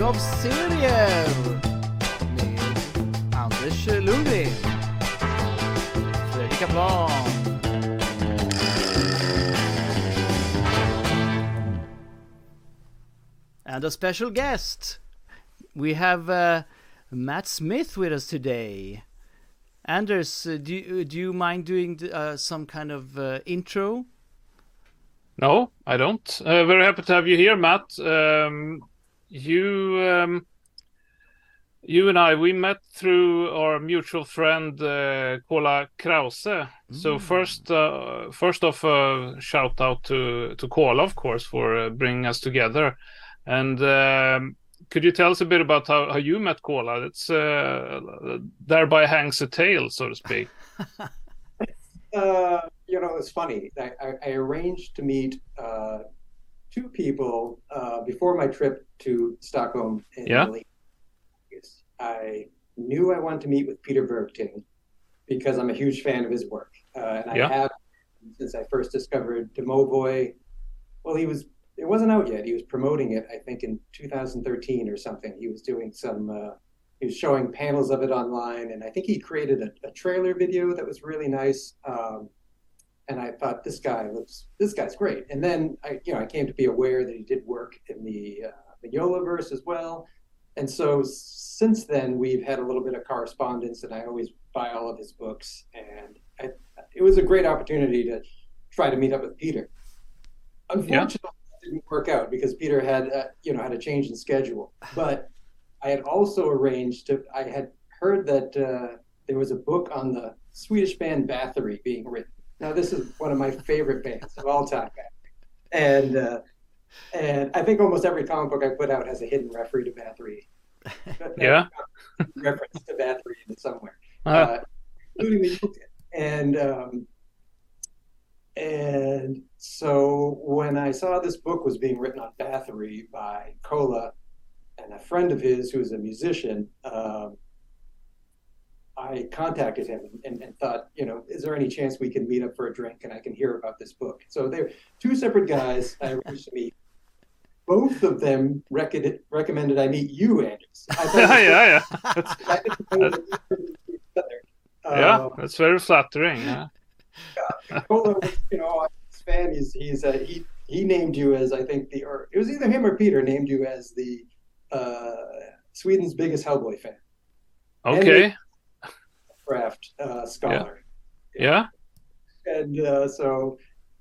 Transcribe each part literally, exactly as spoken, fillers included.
av serier med Anders Lundgren, Fredrik Kaplan and a special guest. We have uh, Matt Smith with us today. Anders, uh, do, you, do you mind doing uh, some kind of uh, intro? No, I don't. Uh, very happy to have you here, Matt. Um, you, um, you and I, we met through our mutual friend uh, Kola Krause. Mm. So first, uh, first off, uh, shout out to to Kola, of course, for uh, bringing us together. And um, could you tell us a bit about how, how you met Kola? It's uh, thereby hangs a tale, so to speak. Uh, you know, it's funny. I, I, I arranged to meet uh, two people uh, before my trip to Stockholm in yeah. late August. I knew I wanted to meet with Peter Bergting because I'm a huge fan of his work. Uh, and I yeah. have since I first discovered Domovoy. Well, he was, it wasn't out yet. He was promoting it, I think, in two thousand thirteen or something. He was doing some... Uh, He was showing panels of it online, and I think he created a, a trailer video that was really nice. Um, and I thought, this guy looks, this guy's great. And then I, you know, I came to be aware that he did work in the uh, the Yolaverse as well. And so since then, we've had a little bit of correspondence, and I always buy all of his books. And I, it was a great opportunity to try to meet up with Peter. Unfortunately, yeah. It didn't work out because Peter had, uh, you know, had a change in schedule, but. I had also arranged to, I had heard that uh, there was a book on the Swedish band Bathory being written. Now, this is one of my favorite bands of all time. And uh, and I think almost every comic book I put out has a hidden referee to Bathory. Yeah. Reference to Bathory in somewhere, uh-huh. uh, including the book. And, um, and so when I saw this book was being written on Bathory by Kola, and a friend of his who's a musician, um, I contacted him and, and, and thought, you know, is there any chance we can meet up for a drink and I can hear about this book? So they're two separate guys I arranged to meet. Both of them rec- recommended I meet you, Anders. I yeah, yeah. That's, uh, yeah, that's very flattering. Yeah. yeah. Kola was, you know, his fan. He's he's uh, he he named you as I think the or it was either him or Peter named you as the. Uh, Sweden's biggest Hellboy fan. Okay. Craft uh, scholar. Yeah. yeah. And uh, so,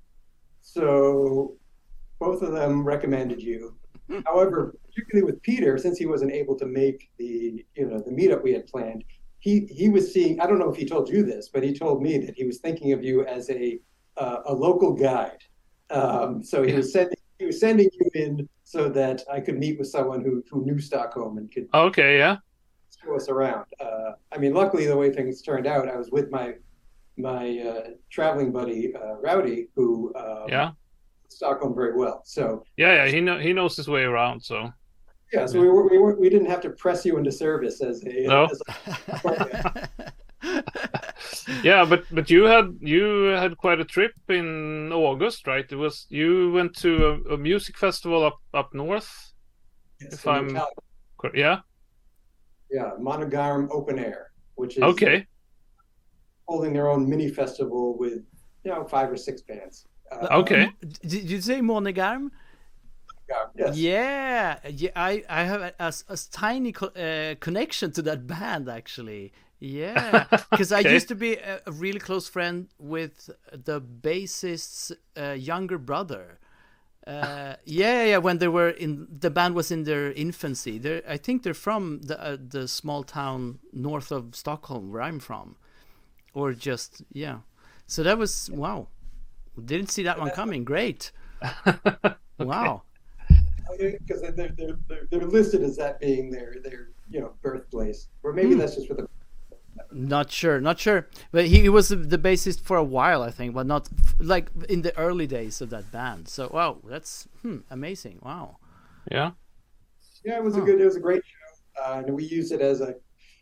so both of them recommended you. However, particularly with Peter, since he wasn't able to make the you know the meetup we had planned, he he was seeing. I don't know if he told you this, but he told me that he was thinking of you as a uh, a local guide. Um, so he was sending he was sending you in. So that I could meet with someone who, who knew Stockholm and could okay, yeah, show us around. Uh, I mean, luckily the way things turned out, I was with my my uh, traveling buddy uh, Rowdy, who um, yeah Stockholm very well. So yeah, yeah, he know he knows his way around. So yeah, so yeah. we were, we were, we didn't have to press you into service as a no. As a, yeah, but but you had you had quite a trip in August, right? It was you went to a, a music festival up up north. yes, if I'm Italian. yeah, yeah, Monogarm Open Air, which is okay, holding their own mini festival with you know five or six bands. Uh, okay, um, did you say Monogarm? Yes. Yeah, yeah. I I have a, a, a tiny co- uh, connection to that band actually. Yeah, because okay. I used to be a, a really close friend with the bassist's uh, younger brother. Uh, yeah, yeah. When they were in the band was in their infancy. They, I think they're from the uh, the small town north of Stockholm, where I'm from, or just yeah. So that was wow. Didn't see that one coming. Great. okay. Wow. Because they're, they're they're they're listed as that being their their you know birthplace, or maybe mm. that's just for the. Not sure, not sure. But he, he was the bassist for a while, I think, but not like in the early days of that band. So wow, that's hmm, amazing. Wow. Yeah. Yeah, it was huh. a good. It was a great show, uh, and we used it as a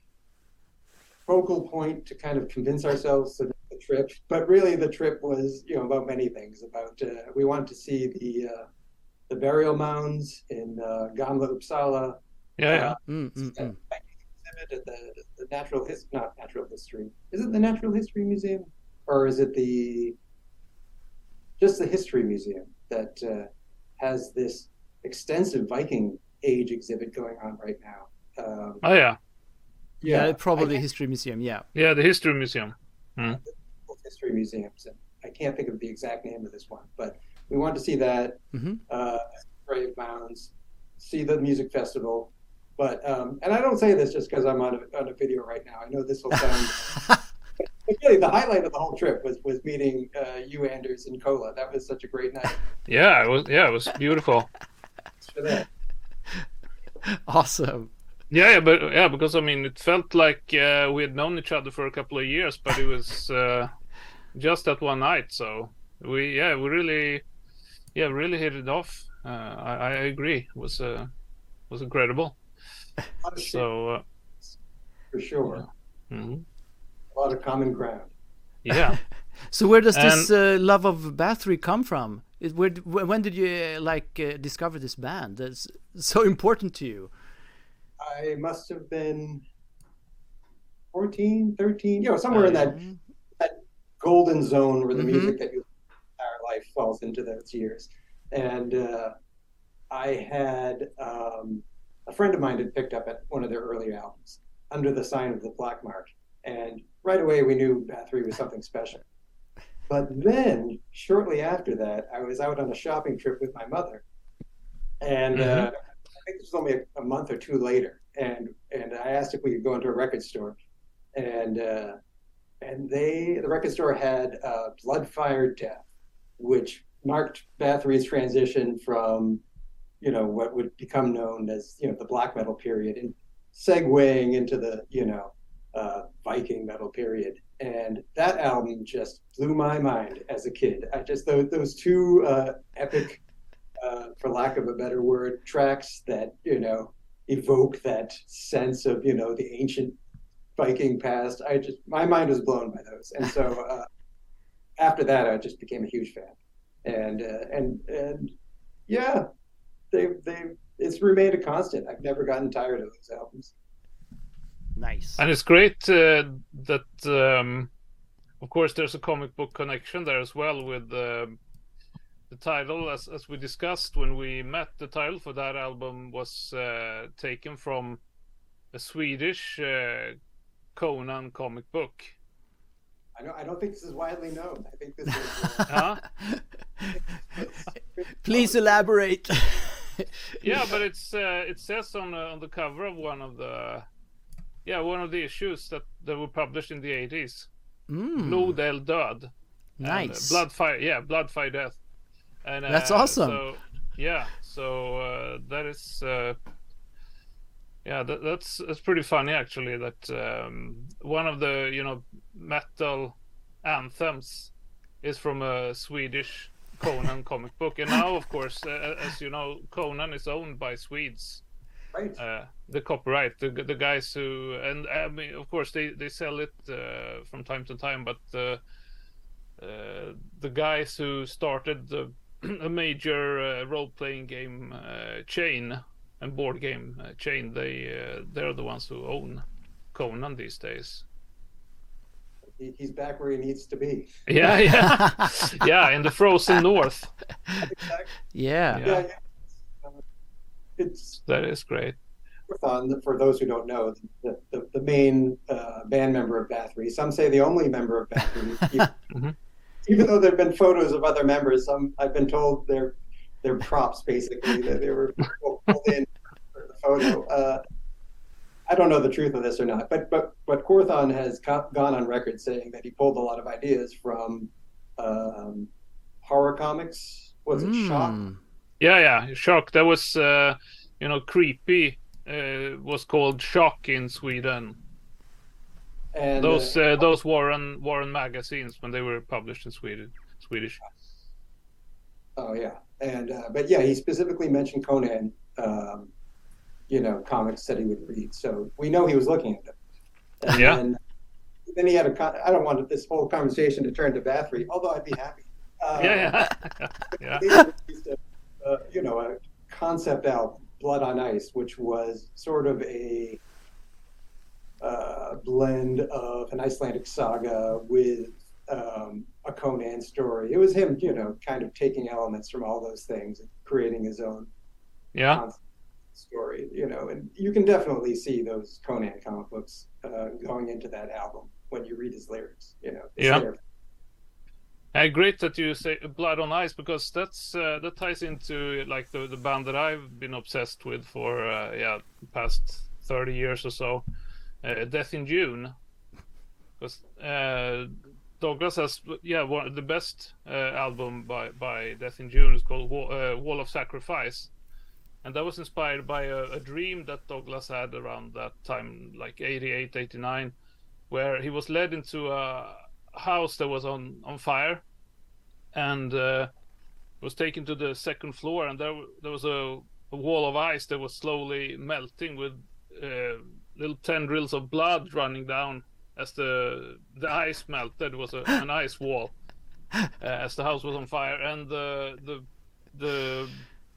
focal point to kind of convince ourselves to make the trip. But really, the trip was you know about many things. About uh, we wanted to see the uh, the burial mounds in uh, Gamla Uppsala. Yeah, yeah. Uh, Mm, mm, it's a mm. exhibit at the, the natural his not natural history. Is it the Natural History Museum, or is it the just the History Museum that uh, has this extensive Viking Age exhibit going on right now? Um, Oh yeah, Yeah, yeah, probably I, History Museum. Yeah. yeah. The History Museum. Mm. History Museums, and I can't think of the exact name of this one, but we want to see that. Mm-hmm. Uh, Brave Mounds, see the music festival. But um, and I don't say this just because I'm on a, on a video right now. I know this will sound. But really, the highlight of the whole trip was was meeting uh, you, Anders, and Kola. That was such a great night. Yeah, it was. Yeah, it was beautiful. Thanks for that. Awesome. Yeah, yeah, but yeah, because I mean, it felt like uh, we had known each other for a couple of years, but it was uh, just that one night. So we, yeah, we really, yeah, really hit it off. Uh, I, I agree. It was uh, was incredible. A lot of shit, So uh, for sure. mhm. A lot of common ground. Yeah. So where does this And- uh, love of Bathory come from? It, where, d- wh- when did you uh, like uh, discover this band that's so important to you? I must have been fourteen, thirteen, you know, somewhere in that Mhm. golden zone where the Mhm. music that you entire life falls into those years. And uh, I had um, a friend of mine had picked up at one of their early albums, Under the Sign of the Black Mark, and right away we knew Bathory was something special. But then, shortly after that, I was out on a shopping trip with my mother, and Mhm. uh, I think this was only a, a month or two later, and and I asked if we could go into a record store, and uh, and they the record store had uh, Bloodfire Death, which marked Bathory's transition from, you know, what would become known as, you know, the black metal period, and segueing into the, you know, uh, Viking metal period. And that album just blew my mind as a kid. I just those, those two uh, epic, uh, for lack of a better word, tracks that, you know, evoke that sense of, you know, the ancient Viking past. I just my mind was blown by those, and so uh, after that, I just became a huge fan. And uh, and and yeah, they they it's remained a constant. I've never gotten tired of those albums. Nice. And it's great uh, that, um, of course, there's a comic book connection there as well with uh, the title. As as we discussed when we met, the title for that album was uh, taken from a Swedish uh, Conan comic book. I know I don't think this is widely known. I think this is. Uh, Huh? Please elaborate. Yeah, but it's uh, it says on uh, on the cover of one of the yeah one of the issues that, that were published in the eighties. Mm, Blod eld död. nice. Bloodfire, yeah, Bloodfire Death. And uh, That's awesome. So, yeah, so uh, that is, uh, yeah, that, that's that's pretty funny actually. That um, one of the you know metal anthems is from a Swedish Conan comic book, and now of course, uh, as you know, Conan is owned by Swedes. right. Uh, the copyright, the the guys who, and I mean, of course, they they sell it uh, from time to time, but uh, uh, the guys who started the, a major uh, role-playing game uh, chain and board game uh, chain, they uh, they're the ones who own Conan these days. He, he's back where he needs to be. Yeah, yeah, yeah, in the frozen north. Exactly. Yeah. Yeah. Yeah, yeah. Uh, It's That is great. Quorthon, for those who don't know, the, the, the main uh, band member of Bathory. Some say the only member of Bathory. even, Mhm. even though there have been photos of other members, some I've been told they're they're props basically, that they were pulled in for the photo. Uh, I don't know the truth of this or not, but but but Quorthon has co- gone on record saying that he pulled a lot of ideas from um, horror comics. Was it Shock? Mm, Yeah, yeah, Shock. That was, uh, you know, creepy. Uh, was called Shock in Sweden. And Those uh, uh, those Warren Warren magazines when they were published in Sweden, Swedish. oh yeah, and uh, but yeah, he specifically mentioned Conan. Um, you know, comics that he would read, so we know he was looking at them. And Yeah. Then, then he had a. Con- I don't want this whole conversation to turn to Bathory, although I'd be happy. Uh, Yeah, yeah, yeah. He released a, uh, you know, a concept album Blood on Ice, which was sort of a uh, blend of an Icelandic saga with um, a Conan story. It was him, you know, kind of taking elements from all those things and creating his own yeah story, you know, and you can definitely see those Conan comic books uh, going into that album when you read his lyrics, you know. Yeah. Lyrics. Uh, great that you say Blood on Ice, because that's uh, that ties into like the the band that I've been obsessed with for uh, yeah the past thirty years or so, uh, Death in June, because uh, Douglas has yeah one of the best uh, album by by Death in June is called Wall, uh, Wall of Sacrifice, and that was inspired by a, a dream that Douglas had around that time, like eighty-eight, eighty-nine, where he was led into a house that was on on fire, and uh, was taken to the second floor, and there there was a, a wall of ice that was slowly melting with uh, little tendrils of blood running down as the the ice melted. It was a, an ice wall uh, as the house was on fire, and the the the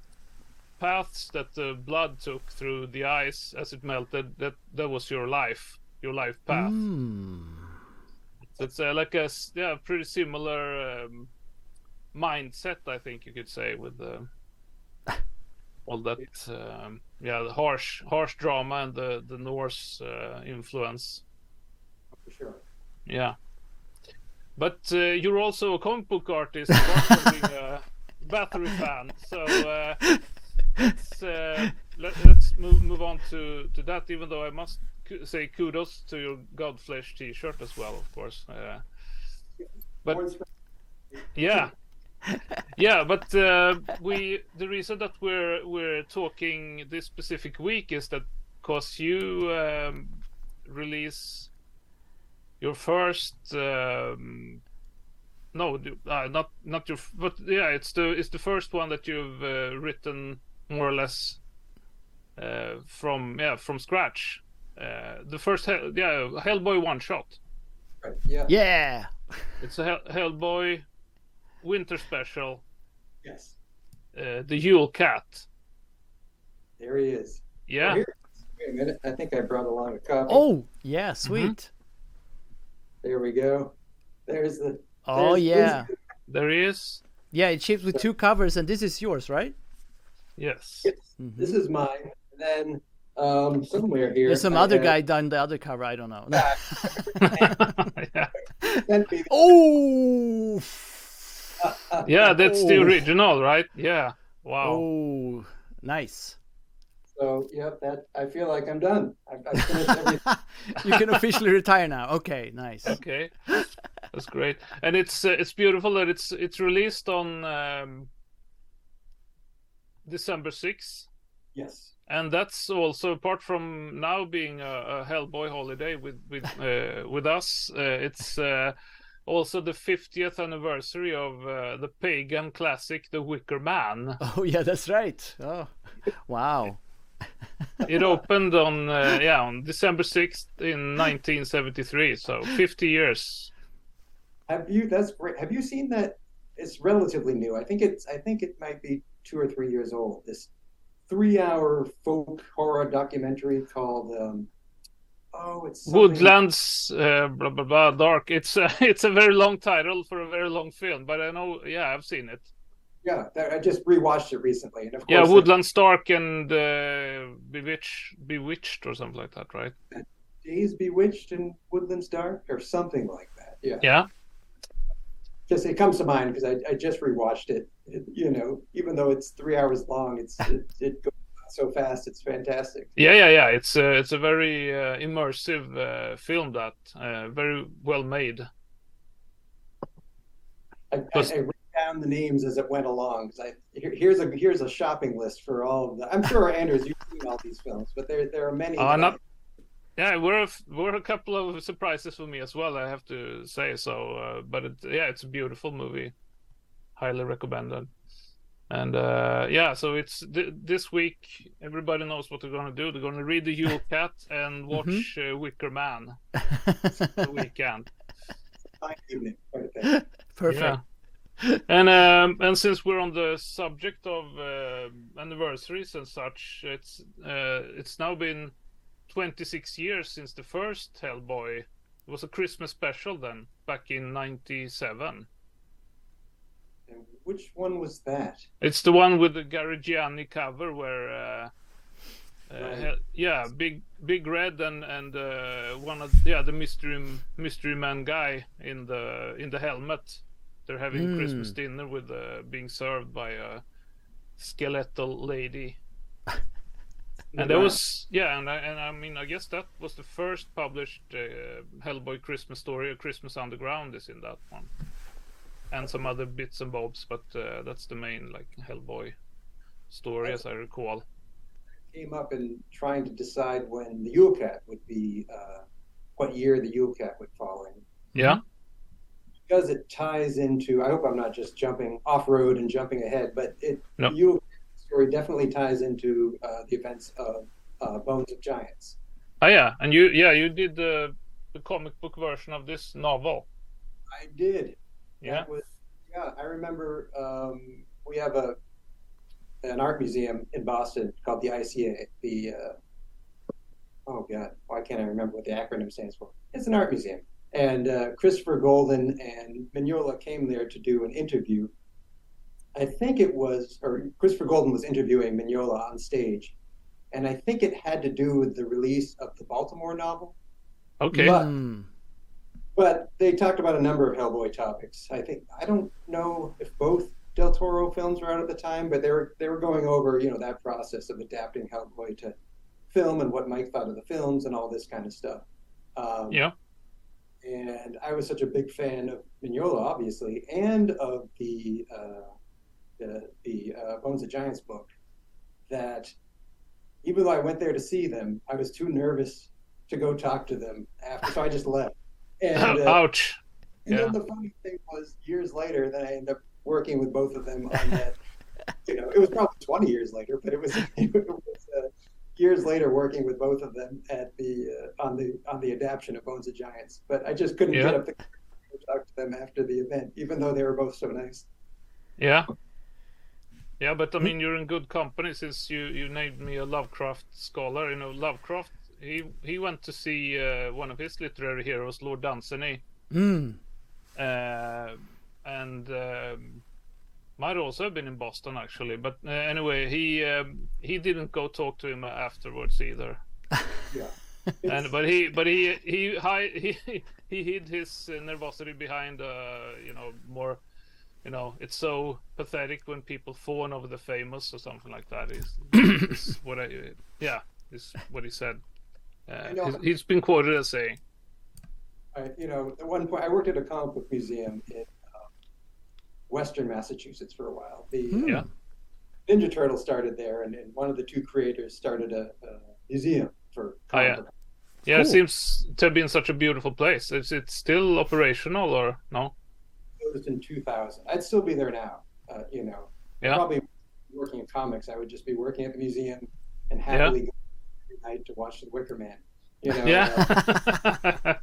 paths that the blood took through the ice as it melted, that that was your life your life path. Mm. So it's uh, like a s- yeah pretty similar um, mindset, I think you could say, with uh, all that um, yeah the harsh harsh drama and the the Norse uh, influence. For sure. Yeah, but uh, you're also a comic book artist, apart from being a Bathory fan. So uh, let's uh, let, let's move move on to to that. Even though I must ku- say kudos to your Godflesh T-shirt as well, of course. Uh, but yeah, yeah. But uh, we the reason that we're we're talking this specific week is that because you um, release your first um, no uh, not not your f- but yeah it's the it's the first one that you've uh, written more or less uh, from yeah from scratch, uh, the first Hell, yeah Hellboy one shot. Right. Yeah. Yeah. It's a Hell, Hellboy winter special, Yes. uh, the Yule Cat. There he is. Yeah. Oh, here. Wait a minute. I think I brought along a copy. Oh, yeah, sweet. There we go. There's the. Oh, there's- yeah. There he is. Yeah, it ships with two covers, and this is yours, right? Yes. Yes, Mhm. this is mine. And then um, somewhere here. There's some I other have- guy done the other cover. I don't know. yeah. sent me- Oh. Yeah, that's the Oh. original, right? Yeah. Wow. Oh, nice. So, yep, that I feel like I'm done. I've, I've finished everything. You can officially retire now. Okay, nice. Okay, that's great, and it's uh, it's beautiful that it's it's released on um, December sixth, Yes. and that's also, apart from now being a, a Hellboy holiday with with uh, with us, uh, it's uh, also the fiftieth anniversary of uh, the pagan classic The Wicker Man. Oh, yeah, that's right. Oh, wow. It opened on uh, yeah on December sixth in nineteen seventy-three, so fifty years. Have you? That's great. Have you seen that? It's relatively new. I think it's. I think it might be two or three years old. This three-hour folk horror documentary called. Um, oh, it's something- Woodlands, uh, blah blah blah, dark. It's uh, it's a very long title for a very long film, but I know, yeah, I've seen it. Yeah, that, I just rewatched it recently, and of course, Yeah, like, Woodlands Dark and uh, Bewitched, Bewitched or something like that, right? Days Bewitched in Woodlands Dark or something like that. Yeah, Yeah, just it comes to mind because I, I just rewatched it. It. You know, even though it's three hours long, it's it, it goes so fast. It's fantastic. yeah, yeah, yeah. It's uh, it's a very uh, immersive uh, film that uh, very well made. I, I, I wrote down the names as it went along because I here, here's a here's a shopping list for all of them. I'm sure Anders, you've seen all these films, but there there are many. Uh, that I- not- Yeah, we're a, f- we're a couple of surprises for me as well, I have to say. So, uh, but it, yeah, it's a beautiful movie, highly recommended. And uh, yeah, so it's th- this week. Everybody knows what they're gonna do. They're gonna read the Yule Cat and watch uh, Wicker Man the weekend. Fine evening, right there. Perfect. Yeah. And um, and since we're on the subject of uh, anniversaries and such, it's uh, it's now been twenty-six years since the first Hellboy. It was a Christmas special then, back in ninety-seven. And which one was that? It's the one with the Gary Gianni cover where, uh, uh, Right. Hel- yeah, big big red and and uh, one of yeah the mystery mystery man guy in the in the helmet. They're having Mm. Christmas dinner with uh, being served by a skeletal lady. And that Wow. was yeah, and I, and I mean I guess that was the first published uh, Hellboy Christmas story. Christmas Underground is in that one, and some other bits and bobs, but uh, that's the main like Hellboy story as I recall. Came up in trying to decide when the Yule Cat would be, uh, what year the Yule Cat would fall in. Yeah, Because it ties into, I hope I'm not just jumping off road and jumping ahead, but it No. the Yule Cat story definitely ties into uh, the events of uh, Bones of Giants. oh yeah, and you yeah you did the the comic book version of this novel. I did. Yeah, That was, yeah, I remember um, we have a an art museum in Boston called the I C A. The uh, oh god, why can't I remember what the acronym stands for? It's an art museum, and uh, Christopher Golden and Mignola came there to do an interview. I think it was, or Christopher Golden was interviewing Mignola on stage, and I think it had to do with the release of the Baltimore novel. okay. But- Mm. But they talked about a number of Hellboy topics. I think I don't know if both Del Toro films were out at the time, but they were they were going over, you know, that process of adapting Hellboy to film and what Mike thought of the films and all this kind of stuff. Um, Yeah, And I was such a big fan of Mignola, obviously, and of the uh, the, the uh, Bones of Giants book, that even though I went there to see them, I was too nervous to go talk to them after, so I just left. And, uh, ouch. and Yeah. then the funny thing was, years later, then I ended up working with both of them on that. You know, it was probably twenty years later, but it was, it was uh, years later working with both of them at the uh, on the on the adaptation of Bones of Giants. But I just couldn't Yeah. get up the courage to talk to them after the event, even though they were both so nice. Yeah. Yeah, but I mean, you're in good company since you, you named me a Lovecraft scholar. You know, Lovecraft, he he went to see uh, one of his literary heroes, Lord Dunsany, Mm. uh, and um, might also have been in Boston actually. But uh, anyway, he um, he didn't go talk to him afterwards either. Yeah. And but he but he he hi- he he hid his uh, nervosity behind uh you know more. You know, it's so pathetic when people fawn over the famous or something like that. Is, is what I, yeah, is what he said. Uh, know. he's, he's been quoted as saying, I, you know, at one point, I worked at a comic book museum in uh, Western Massachusetts for a while. The uh, Yeah. Ninja Turtle started there, and, and one of the two creators started a, a museum for Oh, yeah. comic book. "Yeah, Cool. it seems to have been such a beautiful place. Is it still operational or no?" Closed in two thousand. I'd still be there now. Uh, you know, Yeah. probably working in comics. I would just be working at the museum and happily go every night to watch The Wicker Man. You know, uh, Yeah.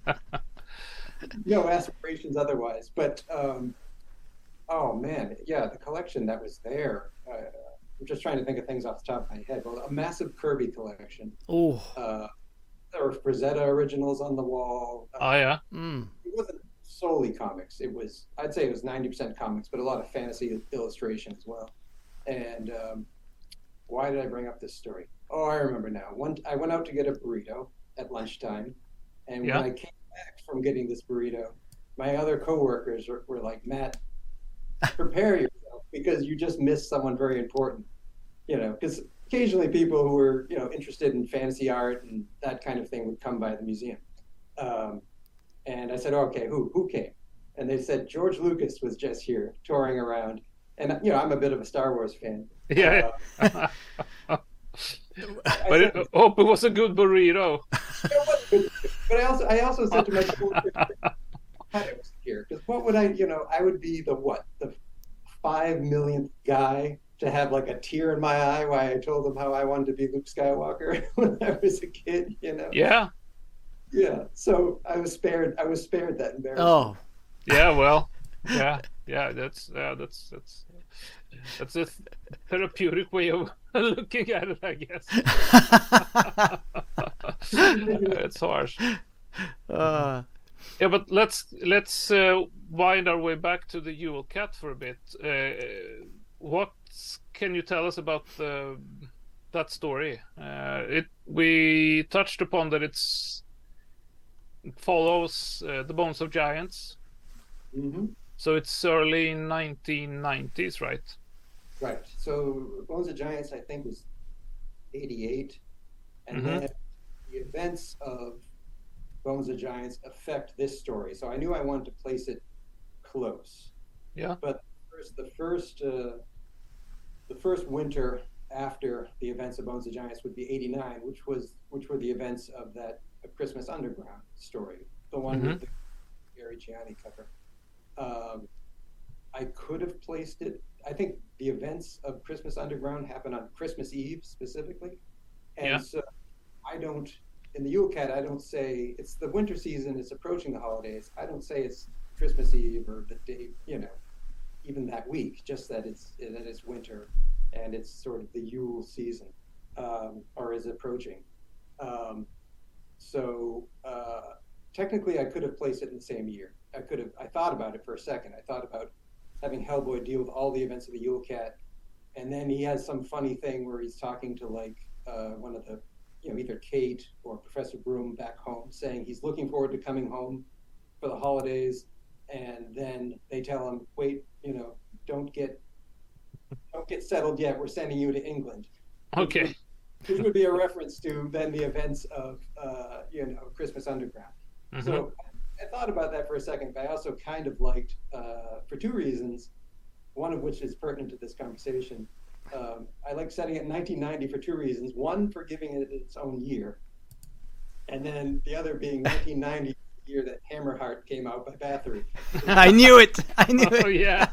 no aspirations otherwise. But um, oh man, yeah, the collection that was there. Uh, I'm just trying to think of things off the top of my head. Well, a massive Kirby collection. Oh. Uh, there were Frazetta originals on the wall. Uh, Oh yeah. Mm. it wasn't solely comics. It was, I'd say it was ninety percent comics, but a lot of fantasy illustration as well. And um, why did I bring up this story? Oh, I remember now. One, I went out to get a burrito at lunchtime, and Yeah. when I came back from getting this burrito, my other coworkers were, were like, "Matt, prepare yourself because you just missed someone very important." You know, because occasionally people who were, you know, interested in fantasy art and that kind of thing would come by the museum. Um, and I said, "Okay, who who came?" And they said George Lucas was just here touring around. And you know, I'm a bit of a Star Wars fan. Yeah. Uh, But I it, said, hope it was a good burrito. but I also I also said to my coworkers, "I was here because what would I, you know, I would be the what the five millionth guy to have like a tear in my eye why I told them how I wanted to be Luke Skywalker when I was a kid, you know." Yeah. Yeah. So I was spared. I was spared that embarrassment. Oh. Yeah. Well. Yeah. yeah, that's yeah, that's that's that's a th- therapeutic way of looking at it, I guess. It's harsh. Uh, Yeah, but let's let's uh, wind our way back to the Yule Cat for a bit. Uh, what can you tell us about the, that story? Uh, it we touched upon that it's it follows uh, the Bones of Giants. Mm-hmm. So it's early nineteen nineties, right? Right. So Bones of Giants, I think, was eighty-eight, and Mhm. then the events of Bones of Giants affect this story. So I knew I wanted to place it close. Yeah. But first, the first, uh, the first winter after the events of Bones of Giants would be eighty-nine, which was which were the events of that A Christmas Underground story, the one Mhm. with the Gary Gianni cover. Um, I could have placed it. I think the events of Christmas Underground happen on Christmas Eve specifically, and Yeah. so I don't. In the Yule Cat, I don't say it's the winter season. It's approaching the holidays. I don't say it's Christmas Eve or the day, you know, even that week. Just that it's that it's winter, and it's sort of the Yule season, um, or is approaching. Um, so uh, technically, I could have placed it in the same year. I could have. I thought about it for a second. I thought about having Hellboy deal with all the events of the Yule Cat, and then he has some funny thing where he's talking to like uh, one of the, you know, either Kate or Professor Broom back home, saying he's looking forward to coming home for the holidays, and then they tell him, "Wait, you know, don't get don't get settled yet. We're sending you to England." Okay. Which would be a reference to then the events of uh, you know, Christmas Underground. Mhm. So I thought about that for a second, but I also kind of liked, uh, for two reasons, one of which is pertinent to this conversation. Um, I like setting it in nineteen ninety for two reasons. One, for giving it its own year. And then the other being nineteen ninety, the year that Hammerheart came out by Bathory. I knew it. I knew Oh it. yeah.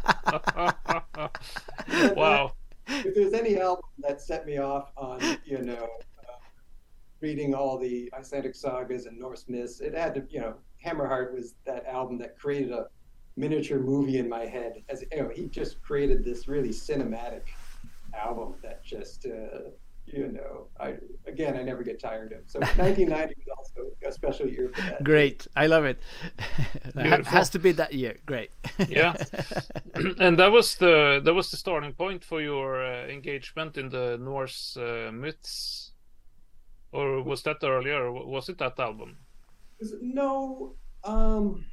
Wow. If there's any album that set me off on, you know, uh, reading all the Icelandic sagas and Norse myths, it had to, you know, Hammerheart was that album that created a miniature movie in my head. As you know, he just created this really cinematic album that just, uh, you know, I again, I never get tired of. So nineteen ninety was also a special year for that. Great. I love it. It Beautiful. has to be that year. Great. Yeah. And that was the that was the starting point for your uh, engagement in the Norse uh, myths, or was that earlier? Or was it that album? No, um,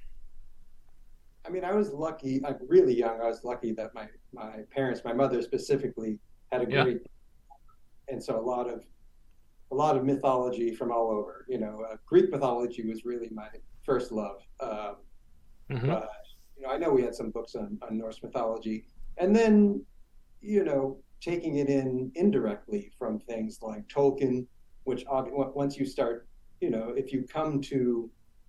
I mean, I was lucky. I'm really young. I was lucky that my my parents, my mother specifically, had a Yeah. great, and so a lot of a lot of mythology from all over. You know, uh, Greek mythology was really my first love. Um, Mhm. But you know, I know we had some books on, on Norse mythology, and then you know, taking it in indirectly from things like Tolkien, which ob- once you start, you know, if you come to,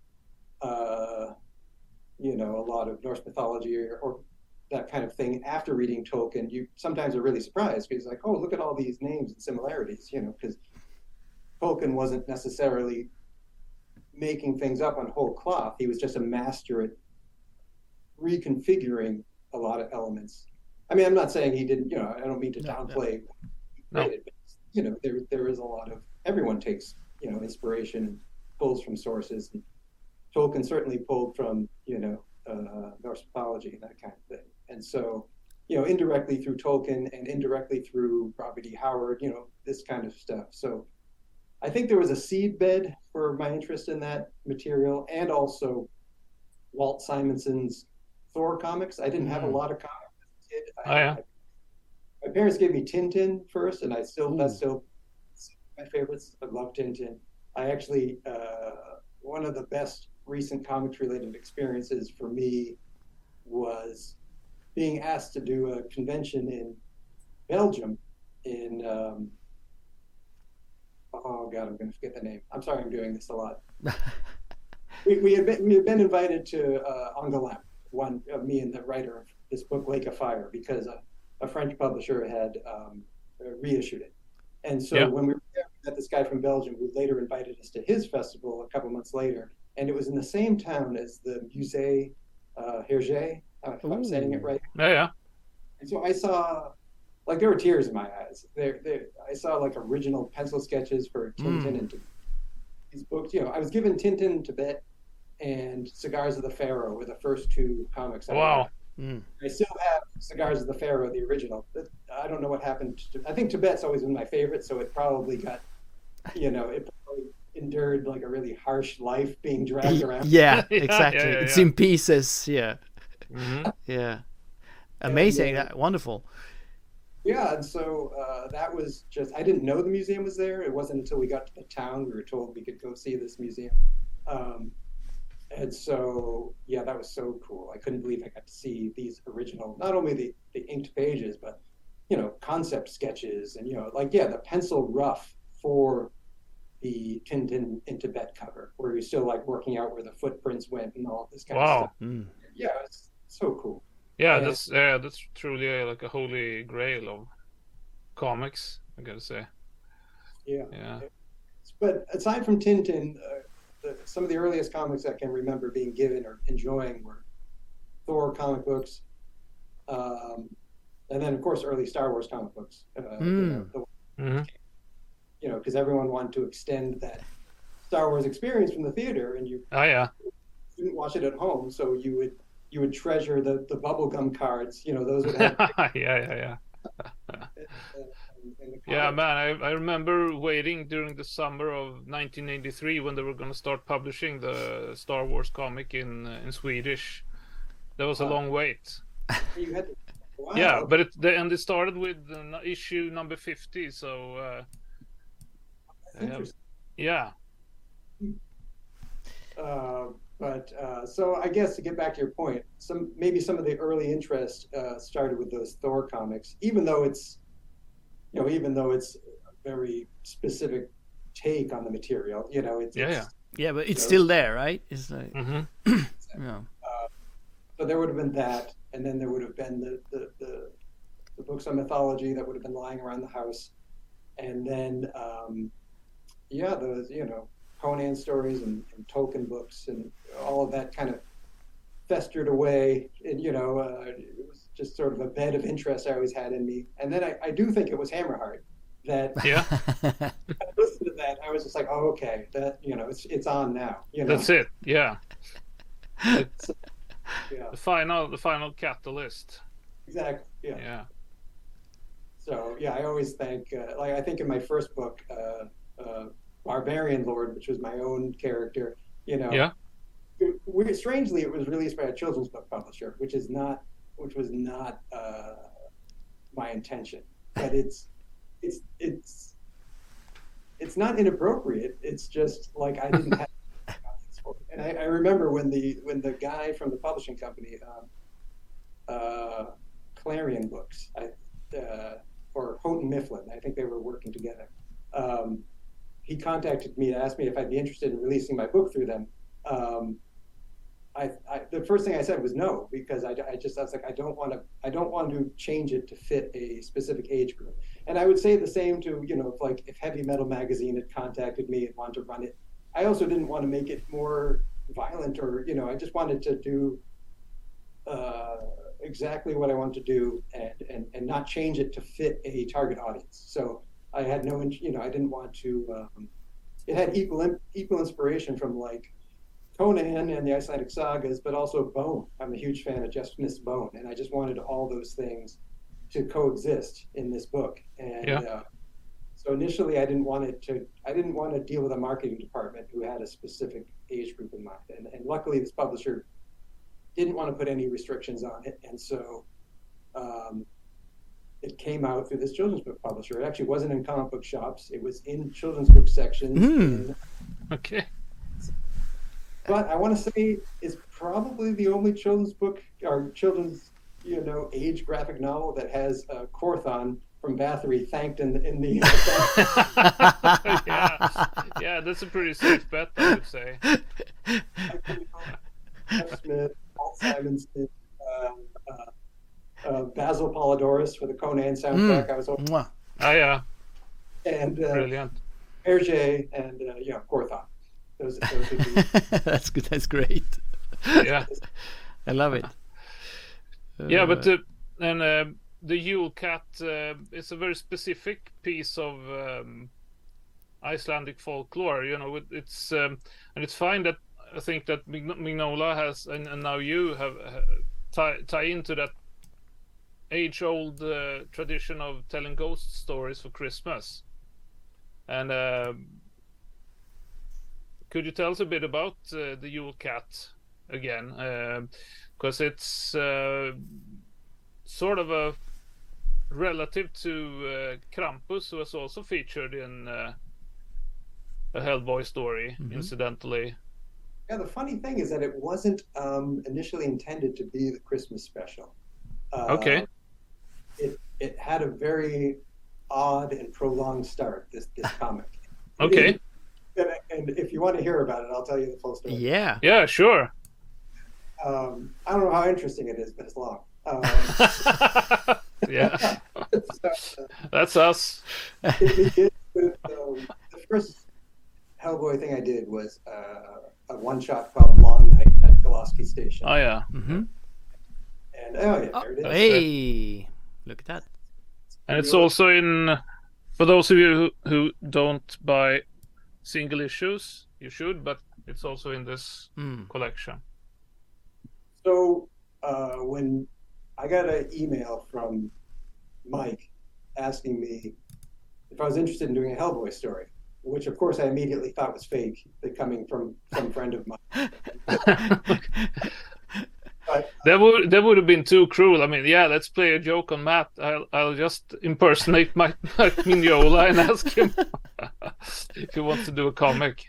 uh, you know, a lot of Norse mythology or, or that kind of thing after reading Tolkien, you sometimes are really surprised because like, oh, look at all these names and similarities, you know, because Tolkien wasn't necessarily making things up on whole cloth. He was just a master at reconfiguring a lot of elements. I mean, I'm not saying he didn't, you know, I don't mean to No, no. downplay No. it, but, you know, there there is a lot of, everyone takes, you know, inspiration and pulls from sources. And Tolkien certainly pulled from, you know, uh, Norse mythology and that kind of thing. And so, you know, indirectly through Tolkien and indirectly through Robert E. Howard, you know, this kind of stuff. So I think there was a seed bed for my interest in that material, and also Walt Simonson's Thor comics. I didn't have a Mm. lot of comics as a kid. I, Oh, yeah. I- my parents gave me Tintin first, and I still that's Ooh. still my favorites. I love Tintin. I actually uh, one of the best recent comics related experiences for me was being asked to do a convention in Belgium in um, oh god, I'm going to forget the name. I'm sorry, I'm doing this a lot. we, we had been we had been invited to uh, Angoulême, one uh, me and the writer of this book Lake of Fire, because a, a French publisher had um, reissued it. And so Yeah. when we were there, we met this guy from Belgium who later invited us to his festival a couple months later, and it was in the same town as the Musée uh, Hergé I don't know if I'm saying it right. Yeah, yeah. And so I saw, like, there were tears in my eyes. There, there. I saw like original pencil sketches for Tintin mm. and these books. You know, I was given Tintin in Tibet and Cigars of the Pharaoh were the first two comics. I wow. Mm. I still have Cigars of the Pharaoh, the original. I don't know what happened to, I think Tibet's always been my favorite, so it probably got, you know, it probably endured like a really harsh life being dragged around. Yeah, exactly. yeah, yeah, yeah. It's in pieces. Yeah. Mm-hmm. Yeah. Amazing. And, uh, wonderful. Yeah, and so uh, that was just, I didn't know the museum was there. It wasn't until we got to the town we were told we could go see this museum. Um, And so, yeah, that was so cool. I couldn't believe I got to see these original, not only the, the inked pages, but, you know, concept sketches and, you know, like, yeah, the pencil rough for the Tintin in Tibet cover, where you're still like working out where the footprints went and all this kind wow. of stuff. Mm. Yeah, it's so cool. Yeah, and, that's yeah, that's truly uh, like a holy grail of comics, I gotta say. Yeah. Yeah. But aside from Tintin, uh, The, some of the earliest comics I can remember being given or enjoying were Thor comic books, um, and then of course early Star Wars comic books. Uh, mm. You know, the, mm-hmm. you know, because everyone wanted to extend that Star Wars experience from the theater, and you oh yeah couldn't watch it at home, so you would you would treasure the the bubblegum cards. You know, those would have yeah yeah yeah. in the Yeah, man, I, I remember waiting during the summer of nineteen eighty-three when they were going to start publishing the Star Wars comic in uh, in Swedish. That was a Wow. long wait. You had to, wow. Yeah, but it the, and it started with uh, issue number fifty, so uh, That's interesting. yeah. Uh, but uh, so I guess to get back to your point, some maybe some of the early interest uh, started with those Thor comics, even though it's, you know, even though it's a very specific take on the material, you know, it's Yeah, it's, yeah. Yeah, but it's So- still there, right? It's like, Mm-hmm. yeah. so there would have been that, and then there would have been the the, the, the books on mythology that would have been lying around the house, and then um, yeah, those, you know, Conan stories and, and Tolkien books and all of that kind of festered away, and you know, uh, it was just sort of a bed of interest I always had in me. And then I, I do think it was Hammerheart that Yeah, I listened to that. I was just like, oh, okay, that, you know, it's it's on now. You know, that's it. Yeah, it's yeah, the final the final catalyst. exactly. Yeah. Yeah. So yeah, I always thank, uh, like I think in my first book, uh, uh, Barbarian Lord, which was my own character, you know, Yeah. it, we, strangely, it was released by a children's book publisher, which is not, which was not uh, my intention. But it's, it's, it's, it's not inappropriate. It's just like I didn't have. And I, I remember when the when the guy from the publishing company, um, uh, Clarion Books, I, uh, or Houghton Mifflin, I think they were working together. Um, he contacted me to ask me if I'd be interested in releasing my book through them. Um, I, I, the first thing I said was no, because I, I just I was like I don't want to I don't want to change it to fit a specific age group. And I would say the same to, you know, if like if Heavy Metal Magazine had contacted me and wanted to run it, I also didn't want to make it more violent, or, you know, I just wanted to do uh, exactly what I wanted to do, and, and and not change it to fit a target audience. So I had no, you know, I didn't want to. Um, it had equal equal inspiration from like Conan and the Icelandic sagas, but also Bone. I'm a huge fan of Just Miss Bone, and I just wanted all those things to coexist in this book. And Yeah. uh, so initially, I didn't want it to. I didn't want to deal with a marketing department who had a specific age group in mind. And, and luckily, this publisher didn't want to put any restrictions on it, and so um, it came out through this children's book publisher. It actually wasn't in comic book shops. It was in children's book sections. Mm. in- Okay. But I want to say it's probably the only children's book or children's, you know, age graphic novel that has uh, Corthon from Bathory thanked in the, in the yeah. Yeah, that's a pretty safe bet, I would say. Jeff Smith, Paul Simonson, uh, uh, uh, Basil Polidorus for the Conan soundtrack. I was hoping, Mwah. Oh yeah, and uh, brilliant. Hergé and uh, yeah, Corthon. Those, those would be, That's good. That's great. Yeah. I love it. Yeah, but the, and uh, the Yule Cat uh, is a very specific piece of um, Icelandic folklore. You know, it, it's um, and it's fine that I think that Mignola has, and, and now you have uh, tie tie into that age-old uh, tradition of telling ghost stories for Christmas. And uh, could you tell us a bit about uh, the Yule Cat again? Because uh, it's uh, sort of a relative to uh, Krampus, who was also featured in uh, a Hellboy story, mm-hmm. incidentally. Yeah, the funny thing is that it wasn't um, initially intended to be the Christmas special. Uh, okay. It it had a very odd and prolonged start, this this comic. Okay. And, and if you want to hear about it, I'll tell you the full story. Yeah. Yeah, sure. Um, I don't know how interesting it is, but it's long. Um, yeah. so, uh, That's us. It begins with, um, the first Hellboy thing I did was uh, a one-shot called Long Night at Goloski Station. Oh, yeah. Mm-hmm. And, oh, yeah, there it is. Oh, hey, look at that. And it's also in, for those of you who, who don't buy single issues, you should, but it's also in this mm. collection. So uh, when I got an email from Mike asking me if I was interested in doing a Hellboy story, which of course I immediately thought was fake, coming from some friend of mine. But, that would that would have been too cruel. I mean, yeah, let's play a joke on Matt. I'll I'll just impersonate Mike Mignola and ask him if he wants to do a comic.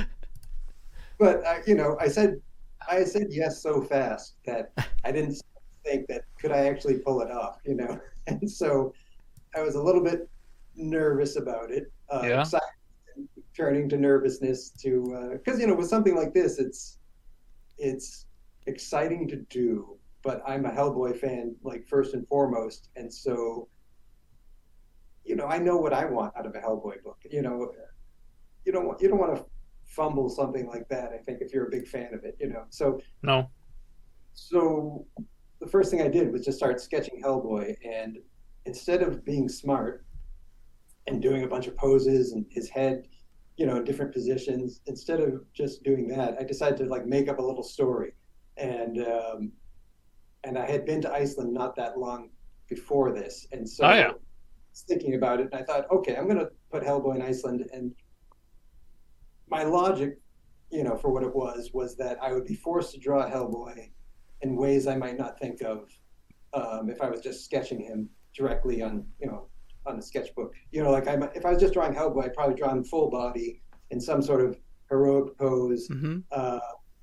But uh, you know, I said I said yes so fast that I didn't think that could I actually pull it off, you know. And so I was a little bit nervous about it. Uh, yeah. Excited, turning to nervousness to because uh, you know, with something like this, it's it's. exciting to do, but I'm a Hellboy fan, like first and foremost, and so you know I know what I want out of a Hellboy book. You know, you don't want you don't want to fumble something like that. I think if you're a big fan of it, you know. So no. So the first thing I did was just start sketching Hellboy, and instead of being smart and doing a bunch of poses and his head, you know, in different positions, instead of just doing that, I decided to like make up a little story. And um, and I had been to Iceland not that long before this, and so oh, yeah. I was thinking about it, and I thought, okay, I'm going to put Hellboy in Iceland. And my logic, you know, for what it was, was that I would be forced to draw Hellboy in ways I might not think of um, if I was just sketching him directly on, you know, on a sketchbook. You know, like I, if I was just drawing Hellboy, I'd probably draw him full body in some sort of heroic pose. Mm-hmm. Uh,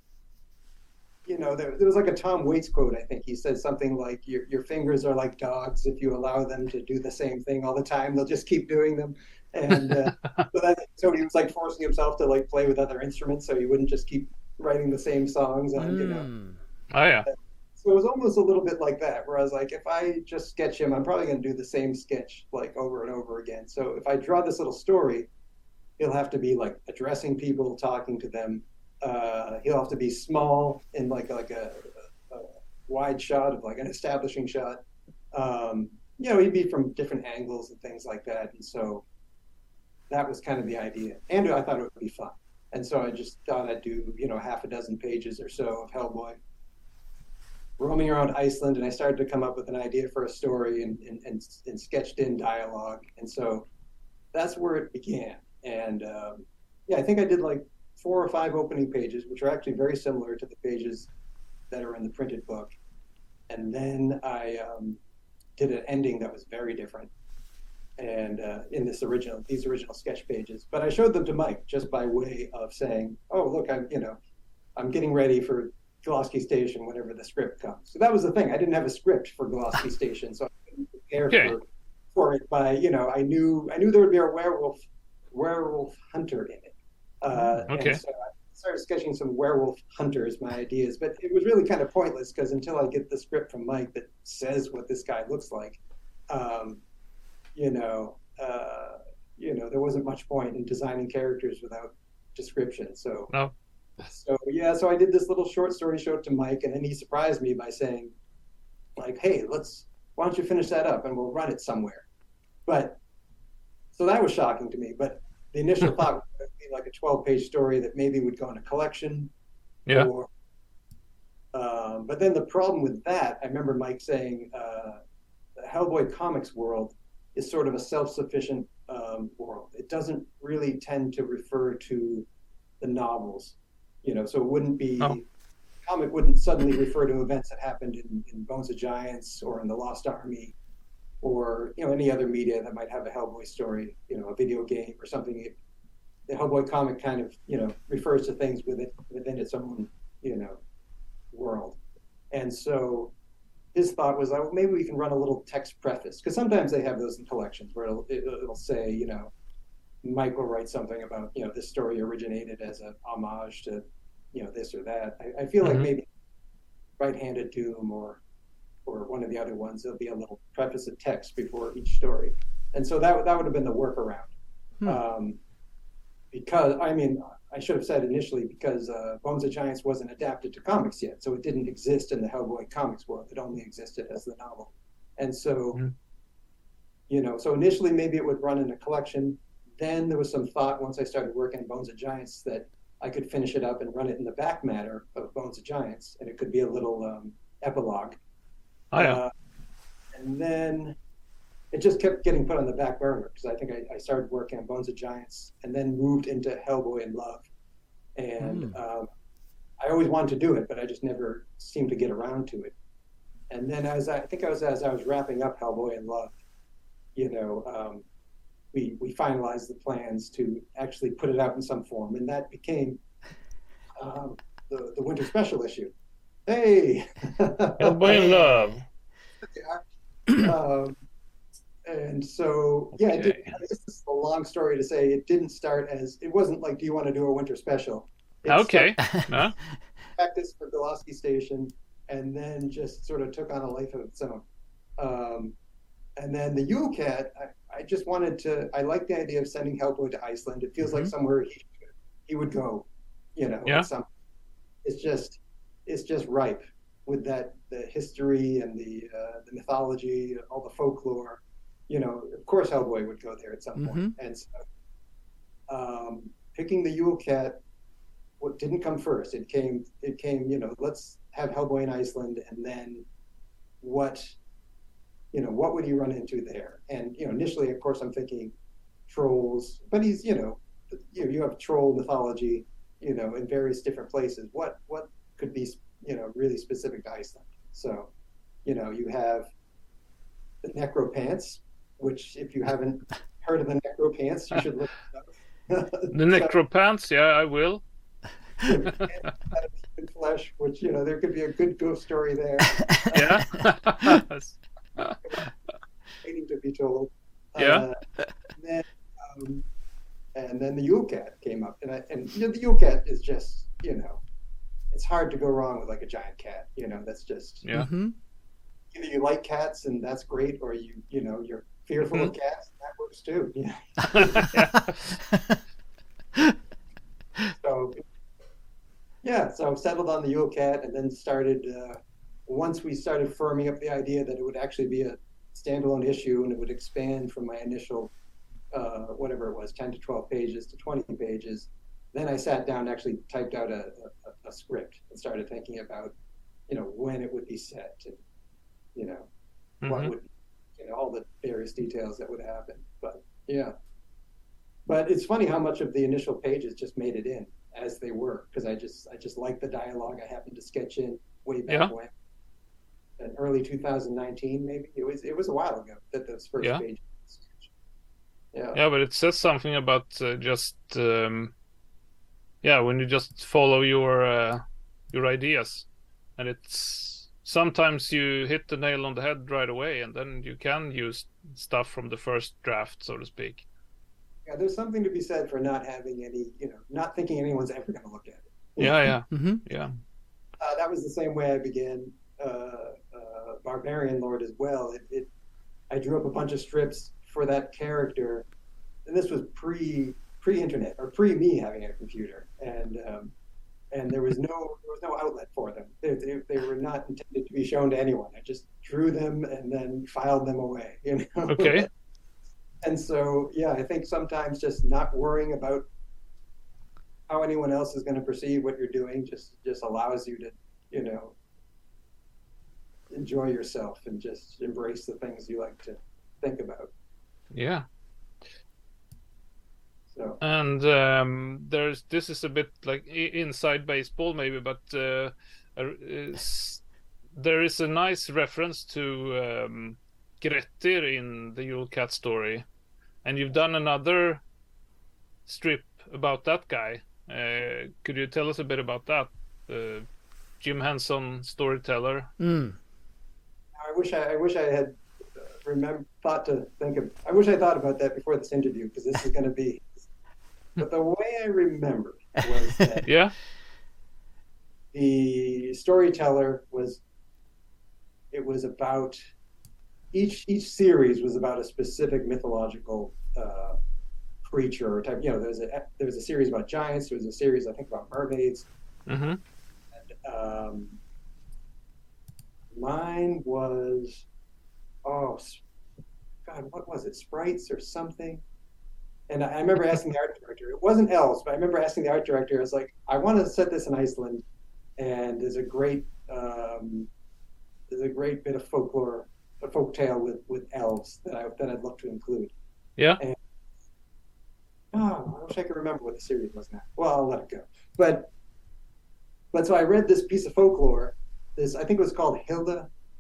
You know, there, there was like a Tom Waits quote, I think. He said something like, your your fingers are like dogs. If you allow them to do the same thing all the time, they'll just keep doing them. And uh, so, that, so he was like forcing himself to like play with other instruments so he wouldn't just keep writing the same songs on, mm. you know. Oh, yeah. So it was almost a little bit like that, where I was like, if I just sketch him, I'm probably going to do the same sketch like over and over again. So if I draw this little story, he'll have to be like addressing people, talking to them. Uh, he'll have to be small in like like a, a, a wide shot of like an establishing shot. Um, you know, he'd be from different angles and things like that. And so that was kind of the idea. And I thought it would be fun. And so I just thought I'd do, you know, half a dozen pages or so of Hellboy roaming around Iceland. And I started to come up with an idea for a story and, and, and, and sketched in dialogue. And so that's where it began. And um, yeah, I think I did like four or five opening pages, which are actually very similar to the pages that are in the printed book. And then I um, did an ending that was very different. And uh, in this original, these original sketch pages, but I showed them to Mike just by way of saying, "Oh, look, I'm, you know, I'm getting ready for Goloski Station whenever the script comes." So that was the thing. I didn't have a script for Goloski Station, so I couldn't prepare okay. for, for it. By you know, I knew I knew there would be a werewolf werewolf hunter in it. Uh, okay. And so I started sketching some werewolf hunters, my ideas, but it was really kind of pointless because until I get the script from Mike that says what this guy looks like, um, you know, uh, you know, there wasn't much point in designing characters without description. So, no. so yeah, so I did this little short story, showed it to Mike, and then he surprised me by saying, like, hey, let's why don't you finish that up and we'll run it somewhere. But so that was shocking to me. But the initial thought would be like a twelve-page story that maybe would go in a collection. Yeah. Or, um, but then the problem with that, I remember Mike saying, uh, the Hellboy comics world is sort of a self-sufficient um, world. It doesn't really tend to refer to the novels, you know. So it wouldn't be. Oh. Comic wouldn't suddenly refer to events that happened in, in Bones of Giants or in the Lost Army, or you know any other media that might have a Hellboy story, you know, a video game or something. It, the Hellboy comic kind of you know refers to things within within its own you know world, and so his thought was, oh, maybe we can run a little text preface, because sometimes they have those in collections where it'll, it'll say, you know, Mike will write something about you know this story originated as a homage to you know this or that. I, I feel mm-hmm. like maybe Right-Handed Doom or or one of the other ones, there'll be a little preface of text before each story, and so that that would have been the workaround. Hmm. Um, because I mean, I should have said initially because uh, Bones of Giants wasn't adapted to comics yet, so it didn't exist in the Hellboy comics world. It only existed as the novel, and so hmm. you know, so initially maybe it would run in a collection. Then there was some thought once I started working on Bones of Giants that I could finish it up and run it in the back matter of Bones of Giants, and it could be a little um, epilogue. Oh, yeah. Uh, and then it just kept getting put on the back burner because I think I, I started working on Bones of Giants and then moved into Hellboy in Love. And mm. um, I always wanted to do it, but I just never seemed to get around to it. And then as I, I think I was as I was wrapping up Hellboy in Love, you know, um, we we finalized the plans to actually put it out in some form, and that became um, the the winter special issue. Hey, Hellboy in Love. Yeah. um, and so yeah, okay. it did, this is a long story to say. It didn't start as it wasn't like, do you want to do a winter special? It okay. Huh? Practice for Gillespie Station, and then just sort of took on a life of its own. Um, and then the Yule Cat, I, I just wanted to, I like the idea of sending Hellboy to Iceland. It feels mm-hmm. like somewhere he, he would go, you know. Yeah. Some, it's just, it's just ripe with that, the history and the uh, the mythology, all the folklore. You know, of course Hellboy would go there at some mm-hmm. point. And so um, picking the Yule Cat, what didn't come first. It came, it came, you know, let's have Hellboy in Iceland, and then what, you know, what would he run into there? And, you know, initially, of course, I'm thinking trolls, but he's, you know, you, you have troll mythology, you know, in various different places. What, what could be, you know, really specific to Iceland? So, you know, you have the Necropants, which if you haven't heard of the Necropants, you should look it up. The Necropants, yeah, I will. Flesh, which, you know, there could be a good ghost story there. Yeah. Waiting to be told. Yeah. Uh, and, then, um, and then the Yule Cat came up, and I, and you know, the Yule Cat is just, you know, it's hard to go wrong with like a giant cat. You know, that's just yeah. Mm-hmm. Either you like cats and that's great, or you you know you're fearful mm-hmm. of cats, and that works too. Yeah. So yeah, so I settled on the Yule Cat, and then started. Uh, once we started firming up the idea that it would actually be a standalone issue and it would expand from my initial, uh, whatever it was, ten to twelve pages to twenty pages, then I sat down and actually typed out a, a, a script and started thinking about, you know, when it would be set and, you know, mm-hmm. what would, you know, all the various details that would happen. But yeah. But it's funny how much of the initial pages just made it in as they were, because I just I just liked the dialogue. I happened to sketch in way back yeah. when. In early two thousand nineteen, maybe it was. It was a while ago that those first yeah. pages. Yeah. Yeah, but it says something about uh, just um, yeah, when you just follow your uh, your ideas, and it's sometimes you hit the nail on the head right away, and then you can use stuff from the first draft, so to speak. Yeah, there's something to be said for not having any, you know, not thinking anyone's ever going to look at it. Yeah, yeah, mm-hmm. yeah. Uh, that was the same way I began. Uh, uh, Barbarian Lord as well. It, it, I drew up a bunch of strips for that character, and this was pre pre internet or pre me having a computer, and um, and there was no there was no outlet for them. They, they, they were not intended to be shown to anyone. I just drew them and then filed them away. You know. Okay. And so, yeah, I think sometimes just not worrying about how anyone else is going to perceive what you're doing just just allows you to, you know, enjoy yourself and just embrace the things you like to think about. Yeah. So. And um, there's this is a bit like inside baseball maybe, but uh, uh, there is a nice reference to um, Grettir in the Yule Cat story, and you've done another strip about that guy. Uh, could you tell us a bit about that? Uh, Jim Henson storyteller. Mm. I wish I, I wish I had remember thought to think of. I wish I thought about that before this interview, because this is going to be. But the way I remember was that yeah, the storyteller was. It was about each each series was about a specific mythological uh, creature or type. You know, there's a there was a series about giants. There was a series I think about mermaids. Mm-hmm. And, um, mine was, oh, God, what was it? Sprites or something? And I, I remember asking the art director. It wasn't elves, but I remember asking the art director. I was like, I want to set this in Iceland, and there's a great um, there's a great bit of folklore, a folk tale with with elves that I that I'd love to include. Yeah. And, oh, I wish I could remember what the series was now. Well, I'll let it go. But but so I read this piece of folklore. This I think it was called Hilda.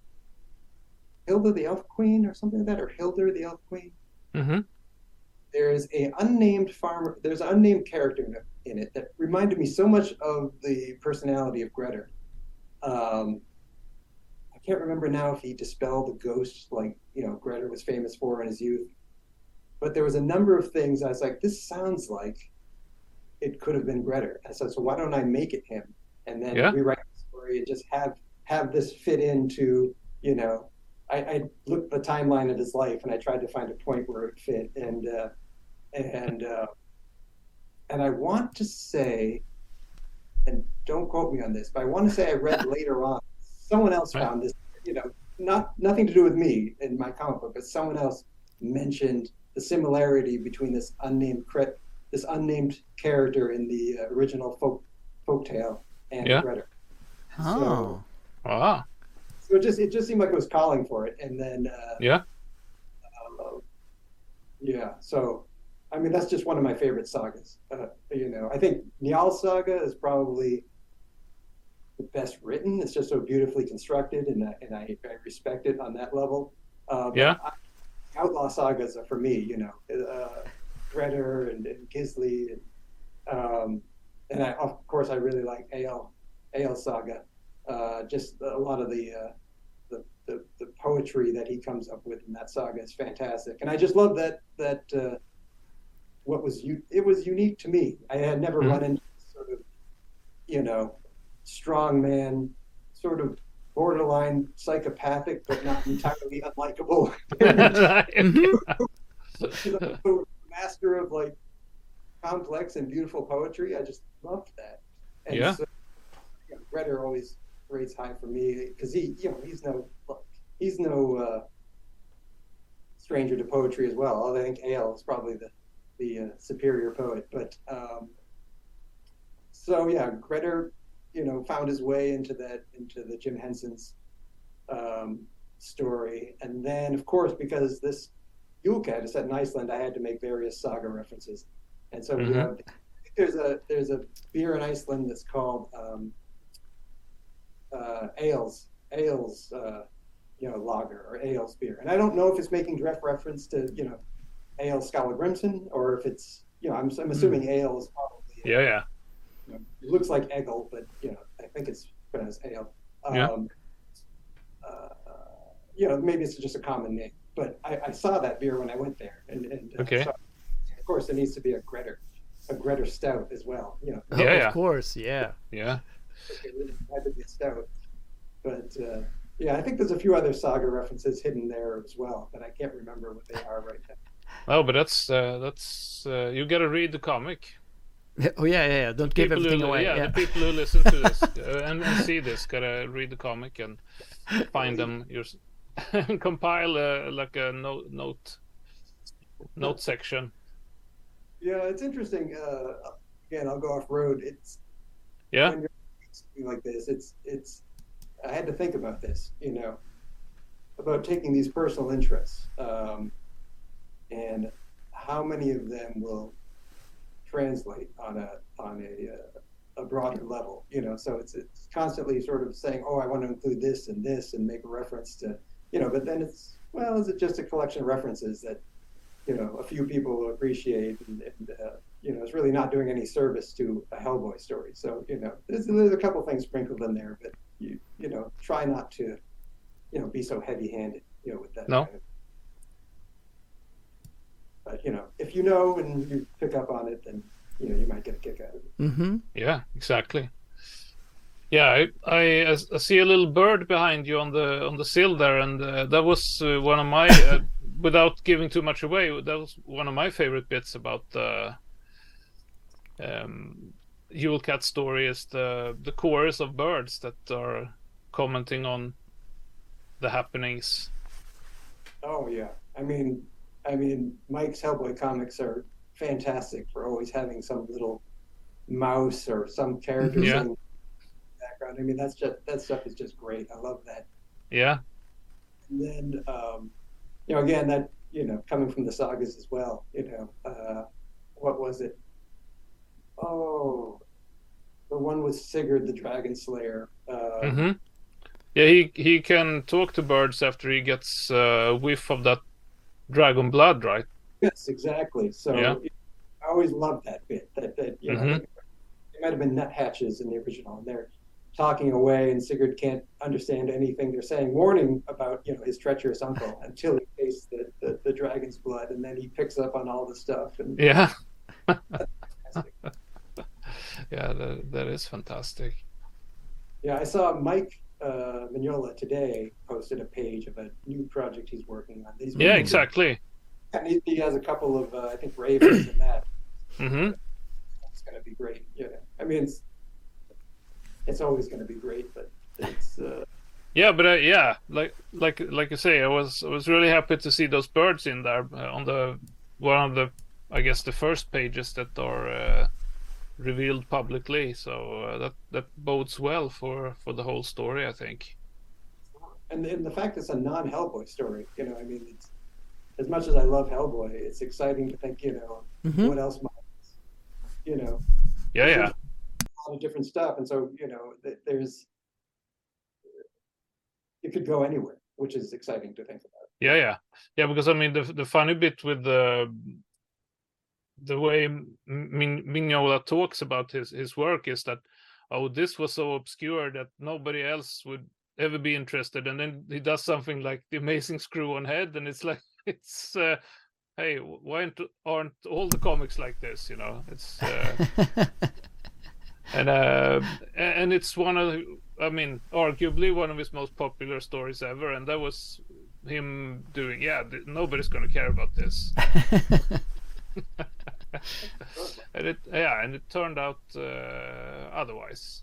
Hilda the Elf Queen or something like that, or Hildur the Elf Queen. Mm-hmm. There's a unnamed farmer. There's an unnamed character in it that reminded me so much of the personality of Grettir. Um, I can't remember now if he dispelled the ghosts like you know Grettir was famous for in his youth. But there was a number of things I was like, this sounds like it could have been Grettir. And so, so why don't I make it him? And then yeah. rewrite the story and just have have this fit into you know. I, I looked at the timeline of his life and I tried to find a point where it fit. And uh, and uh, and I want to say, and don't quote me on this, but I want to say I read later on, someone else found this, you know, not nothing to do with me in my comic book, but someone else mentioned the similarity between this unnamed crit, this unnamed character in the uh, original folk folktale and yeah. Grettir. Oh. So, ah. So it just it just seemed like it was calling for it, and then uh, yeah, uh, yeah. So, I mean, that's just one of my favorite sagas. Uh, you know, I think Njal Saga is probably the best written. It's just so beautifully constructed, and I, and I, I respect it on that level. Uh, yeah. I, Outlaw sagas are for me, you know, uh, Grettir and, and Gisli, and um, and I, of course I really like Egil Egil Saga. Uh, just a lot of the, uh, the the the poetry that he comes up with in that saga is fantastic, and I just love that that uh, what was u- it was unique to me. I had never mm-hmm. run into sort of you know strong man, sort of borderline psychopathic but not entirely unlikable. Master of like complex and beautiful poetry. I just loved that. And yeah. So, you know, Grettir always rates high for me because he, you know, he's no, he's no uh, stranger to poetry as well. Although I think Egil is probably the the uh, superior poet. But um, so yeah, Grettir, you know, found his way into that into the Jim Henson's um, story, and then of course because this Yule Cat is set in Iceland, I had to make various saga references, and so mm-hmm. we have. There's a there's a beer in Iceland that's called um, uh, Ales Ales uh, you know lager or Ales beer, and I don't know if it's making direct reference to you know Ale Skallagrimsson or if it's you know I'm I'm assuming mm. Ale is probably yeah yeah you know, it looks like Egil, but you know I think it's pronounced Ale. Um, yeah. Uh, you know maybe it's just a common name, but I, I saw that beer when I went there, and, and uh, okay. So, of course there needs to be a Grettir. A Grettir stout as well, you know. Yeah, oh, yeah. Of course, yeah, yeah. It really had to be a stout, but uh, yeah, I think there's a few other saga references hidden there as well, but I can't remember what they are right now. Oh, but that's uh, that's uh, you got to read the comic. Oh yeah, yeah, yeah. Don't give People everything who, away. yeah, Yeah. the people who listen to this uh, and, and see this gotta read the comic and find them. Your compile a, like a note note note section. Yeah, it's interesting. Uh, again, I'll go off road. It's Yeah. when you're doing something like this. It's it's. I had to think about this, you know, about taking these personal interests, um, and how many of them will translate on a on a uh, a broader level, you know. So it's it's constantly sort of saying, oh, I want to include this and this and make a reference to, you know. But then it's, well, is it just a collection of references that, you know, a few people will appreciate, and, and uh, you know, it's really not doing any service to a Hellboy story. So, you know, there's, there's a couple things sprinkled in there, but you you know, try not to, you know, be so heavy-handed, you know, with that. No. Kind of, but you know, if you know and you pick up on it, then you know you might get a kick out of it. Mm-hmm. Yeah, exactly. Yeah, I, I I see a little bird behind you on the on the sill there, and uh, that was uh, one of my. Uh, without giving too much away, that was one of my favorite bits about the um, Yule Cat story. Is the the chorus of birds that are commenting on the happenings. Oh yeah, I mean, I mean, Mike's Hellboy comics are fantastic for always having some little mouse or some character Yeah. in the background. I mean, that's just that stuff is just great. I love that. Yeah, And then, um, you know, again, that, you know, coming from the sagas as well. You know, uh, what was it? Oh, the one with Sigurd the Dragon Slayer. Uh, hmm yeah. He he can talk to birds after he gets uh, a whiff of that dragon blood, right? Yes, exactly. So Yeah. I always loved that bit. That that you know, Mhm. I think it might have been nuthatches in the original, and they're talking away, and Sigurd can't understand anything they're saying, warning about, you know, his treacherous uncle until he tastes the, the, the dragon's blood, and then he picks up on all the stuff. And Yeah, fantastic. yeah. That that is fantastic. Yeah, I saw Mike uh, Mignola today posted a page of a new project he's working on. He's Yeah, exactly. And he, he has a couple of, uh, I think, ravens in that. hmm It's going to be great. You know, I mean, it's it's always going to be great, but it's uh, Yeah, but uh, yeah, like like like you say, I was I was really happy to see those birds in there uh, on the one of the I guess the first pages that are uh, revealed publicly. So uh, that that bodes well for for the whole story, I think. and and the fact it's a non-Hellboy story. You know, I mean, it's as much as I love Hellboy, it's exciting to think, you know, Mhm. what else might, you know, Yeah, yeah, a lot of different stuff, and so you know, th- there's it could go anywhere, which is exciting to think about. yeah, yeah, yeah. Because I mean, the the funny bit with the the way Min- Mignola talks about his his work is that, oh, this was so obscure that nobody else would ever be interested, and then he does something like the Amazing Screw-On Head, and it's like it's. Uh, hey, why aren't, aren't all the comics like this? You know, it's uh, and uh, and it's one of, I mean, arguably one of his most popular stories ever, and that was him doing. Yeah, th- nobody's going to care about this, and it yeah, and it turned out uh, otherwise.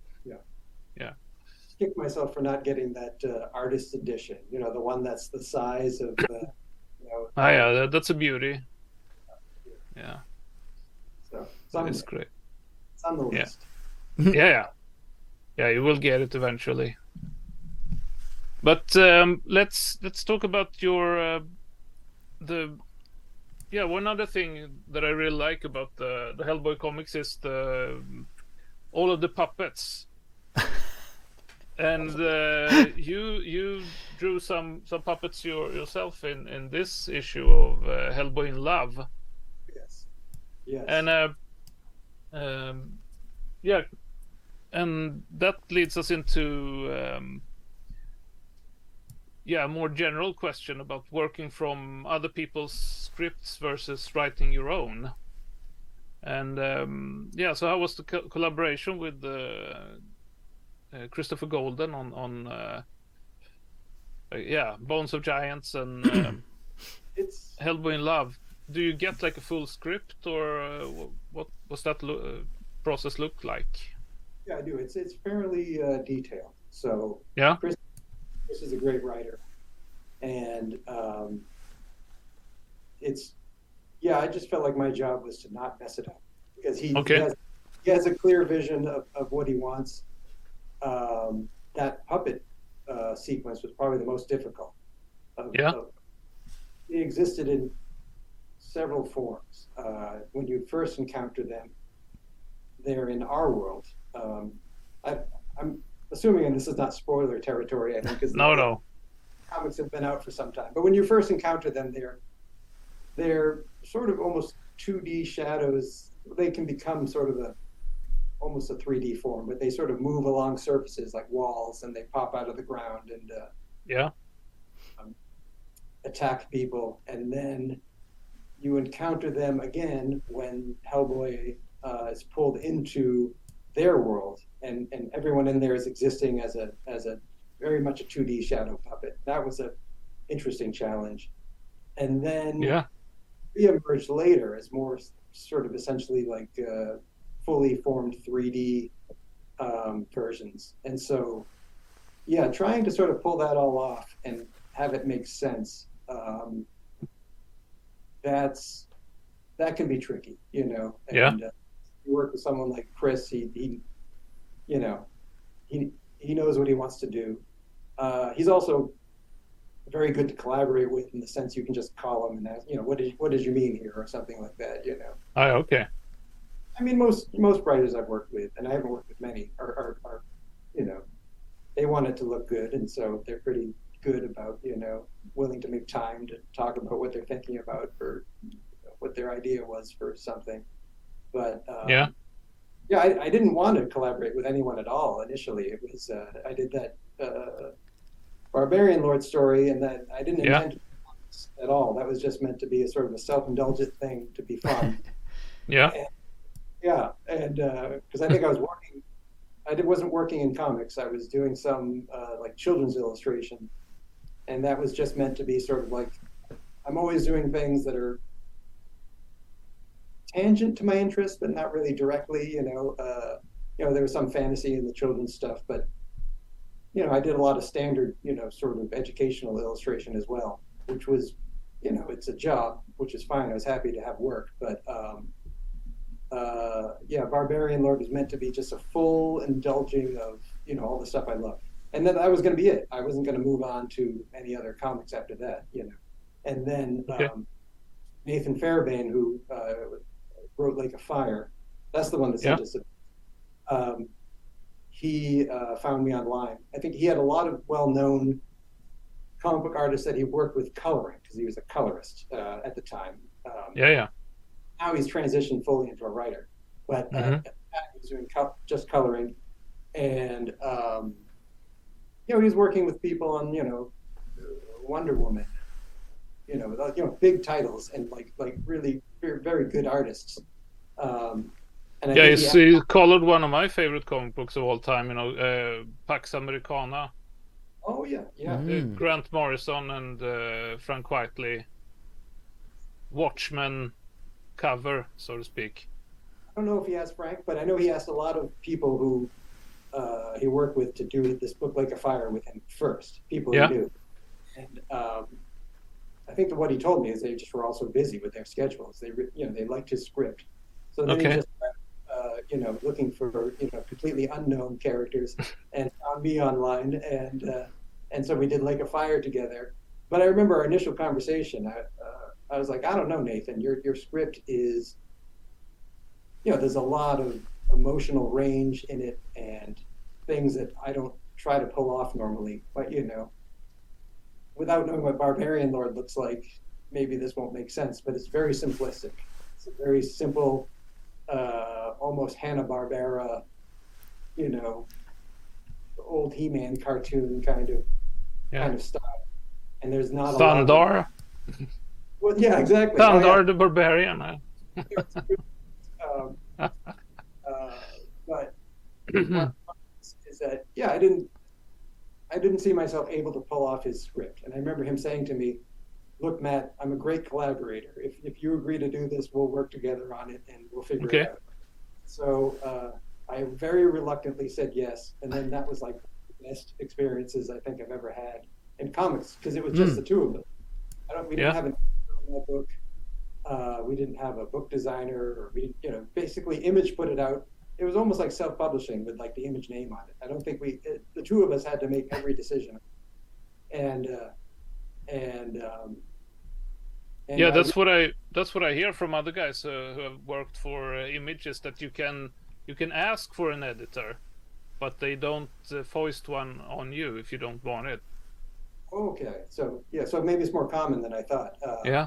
Kick myself for not getting that uh, artist edition. You know, the one that's the size of, uh, you know. Ah, yeah, that, that's a beauty. Yeah, So it's on, it's great. it's on the Yeah. list. yeah, yeah, yeah. You will get it eventually. But um, let's let's talk about your uh, the yeah. One other thing that I really like about the the Hellboy comics is the all of the puppets. And uh, you you drew some some puppets your, yourself in, in this issue of uh, Hellboy in Love. Yes. Yes. And uh, um, yeah, and that leads us into um, yeah, a more general question about working from other people's scripts versus writing your own. And um, yeah, so how was the co- collaboration with uh, uh, Christopher Golden on on uh, uh, yeah, Bones of Giants and um, it's Hellboy in Love? Do you get like a full script, or uh, what was that lo- uh, process look like? Yeah, I do. It's it's fairly uh, detailed. So Yeah. Chris, Chris is a great writer, and um, it's yeah. I just felt like my job was to not mess it up because he, Okay. he has he has a clear vision of, of what he wants. Um, that puppet uh, sequence was probably the most difficult. Of, Yeah. Of, it existed in several forms. Uh, when you first encounter them, they're in our world. Um, I, I'm assuming, and this is not spoiler territory, I think, because No, no. comics have been out for some time. But when you first encounter them, they're they're sort of almost two D shadows. They can become sort of a almost a three D form, but they sort of move along surfaces like walls, and they pop out of the ground and uh, Yeah. um, attack people. And then you encounter them again when Hellboy uh, is pulled into their world, and, and everyone in there is existing as a as a very much a two D shadow puppet. That was a interesting challenge. And then Yeah. we emerged later as more sort of essentially like uh, fully formed three D um, versions. And so, yeah, trying to sort of pull that all off and have it make sense. Um, that's that can be tricky, you know. And, Yeah. uh, you work with someone like Chris. He, he, you know, he he knows what he wants to do. Uh, he's also very good to collaborate with in the sense you can just call him and ask, you know, what did what did you mean here, or something like that, you know. Oh, okay. I mean, most most writers I've worked with, and I haven't worked with many, are, are, are you know, they want it to look good, and so they're pretty good about, you know, willing to make time to talk about what they're thinking about for you know, what their idea was for something. But um, Yeah. yeah, I, I didn't want to collaborate with anyone at all initially. It was uh, I did that uh, Barbarian Lord story, and that I didn't Yeah. intend to be honest at all. That was just meant to be a sort of a self-indulgent thing to be fun. Yeah. And, yeah, and because uh, I think I was working, I did, wasn't working in comics. I was doing some uh, like children's illustration, and that was just meant to be sort of like, I'm always doing things that are tangent to my interest, but not really directly. You know, uh, you know, there was some fantasy in the children's stuff, but you know, I did a lot of standard, you know, sort of educational illustration as well, which was, you know, it's a job, which is fine. I was happy to have work, but um, uh, yeah, Barbarian Lord was meant to be just a full indulging of, you know, all the stuff I loved. And then that was going to be it. I wasn't going to move on to any other comics after that, you know. And then Okay. um, Nathan Fairbairn, who uh, wrote Lake of Fire, that's the one that sent Yeah. us. Um, he uh, found me online. I think he had a lot of well-known comic book artists that he worked with coloring, because he was a colorist uh, at the time. Um, Yeah. Yeah. now he's transitioned fully into a writer, but uh, Mhm. at the time he was doing co- just coloring, and um, you know, he was working with people on, you know, Wonder Woman, you know, like, you know, big titles, and like like really very, very good artists. Um, and I Yeah, think he's, he, he colored one of my favorite comic books of all time, you know, uh, Pax Americana. oh yeah, yeah, Uh, Mm. Grant Morrison and uh, Frank Whiteley. Watchmen cover, so to speak. I don't know if he asked Frank, but I know he asked a lot of people who uh, he worked with to do this book Lake of Fire with him first, people Yeah. he knew. And um, I think that what he told me is they just were also busy with their schedules. They, re- you know, they liked his script, so then Okay. he just, uh, you know, looking for, you know, completely unknown characters, and found me online, and uh, and so we did Lake of Fire together. But I remember our initial conversation. I, uh, I was like, I don't know, Nathan, your your script is, you know, there's a lot of emotional range in it and things that I don't try to pull off normally. But, you know, without knowing what Barbarian Lord looks like, maybe this won't make sense, but it's very simplistic. It's a very simple, uh, almost Hanna-Barbera, you know, old He-Man cartoon kind of Yeah. kind of style. And there's not a lot of, Thandar. well, yeah, exactly. Oh, yeah. Thandar the Barbarian. uh. um, uh, but what is that? Yeah, I didn't, I didn't see myself able to pull off his script, and I remember him saying to me, look, Matt, I'm a great collaborator. If if you agree to do this, we'll work together on it and we'll figure Okay. it out. So uh, I very reluctantly said yes, and then that was like the best experiences I think I've ever had in comics because it was just Mm. the two of them. I don't. We didn't Yeah. have an editor on that book. Uh, we didn't have a book designer, or we, you know, basically Image put it out. It was almost like self-publishing with like the Image name on it. I don't think we, it, the two of us had to make every decision, and uh, and, um, and Yeah, I- that's what I that's what I hear from other guys uh, who have worked for uh, Images, that you can you can ask for an editor, but they don't uh, foist one on you if you don't want it. okay. So yeah, so maybe it's more common than I thought. Uh, Yeah.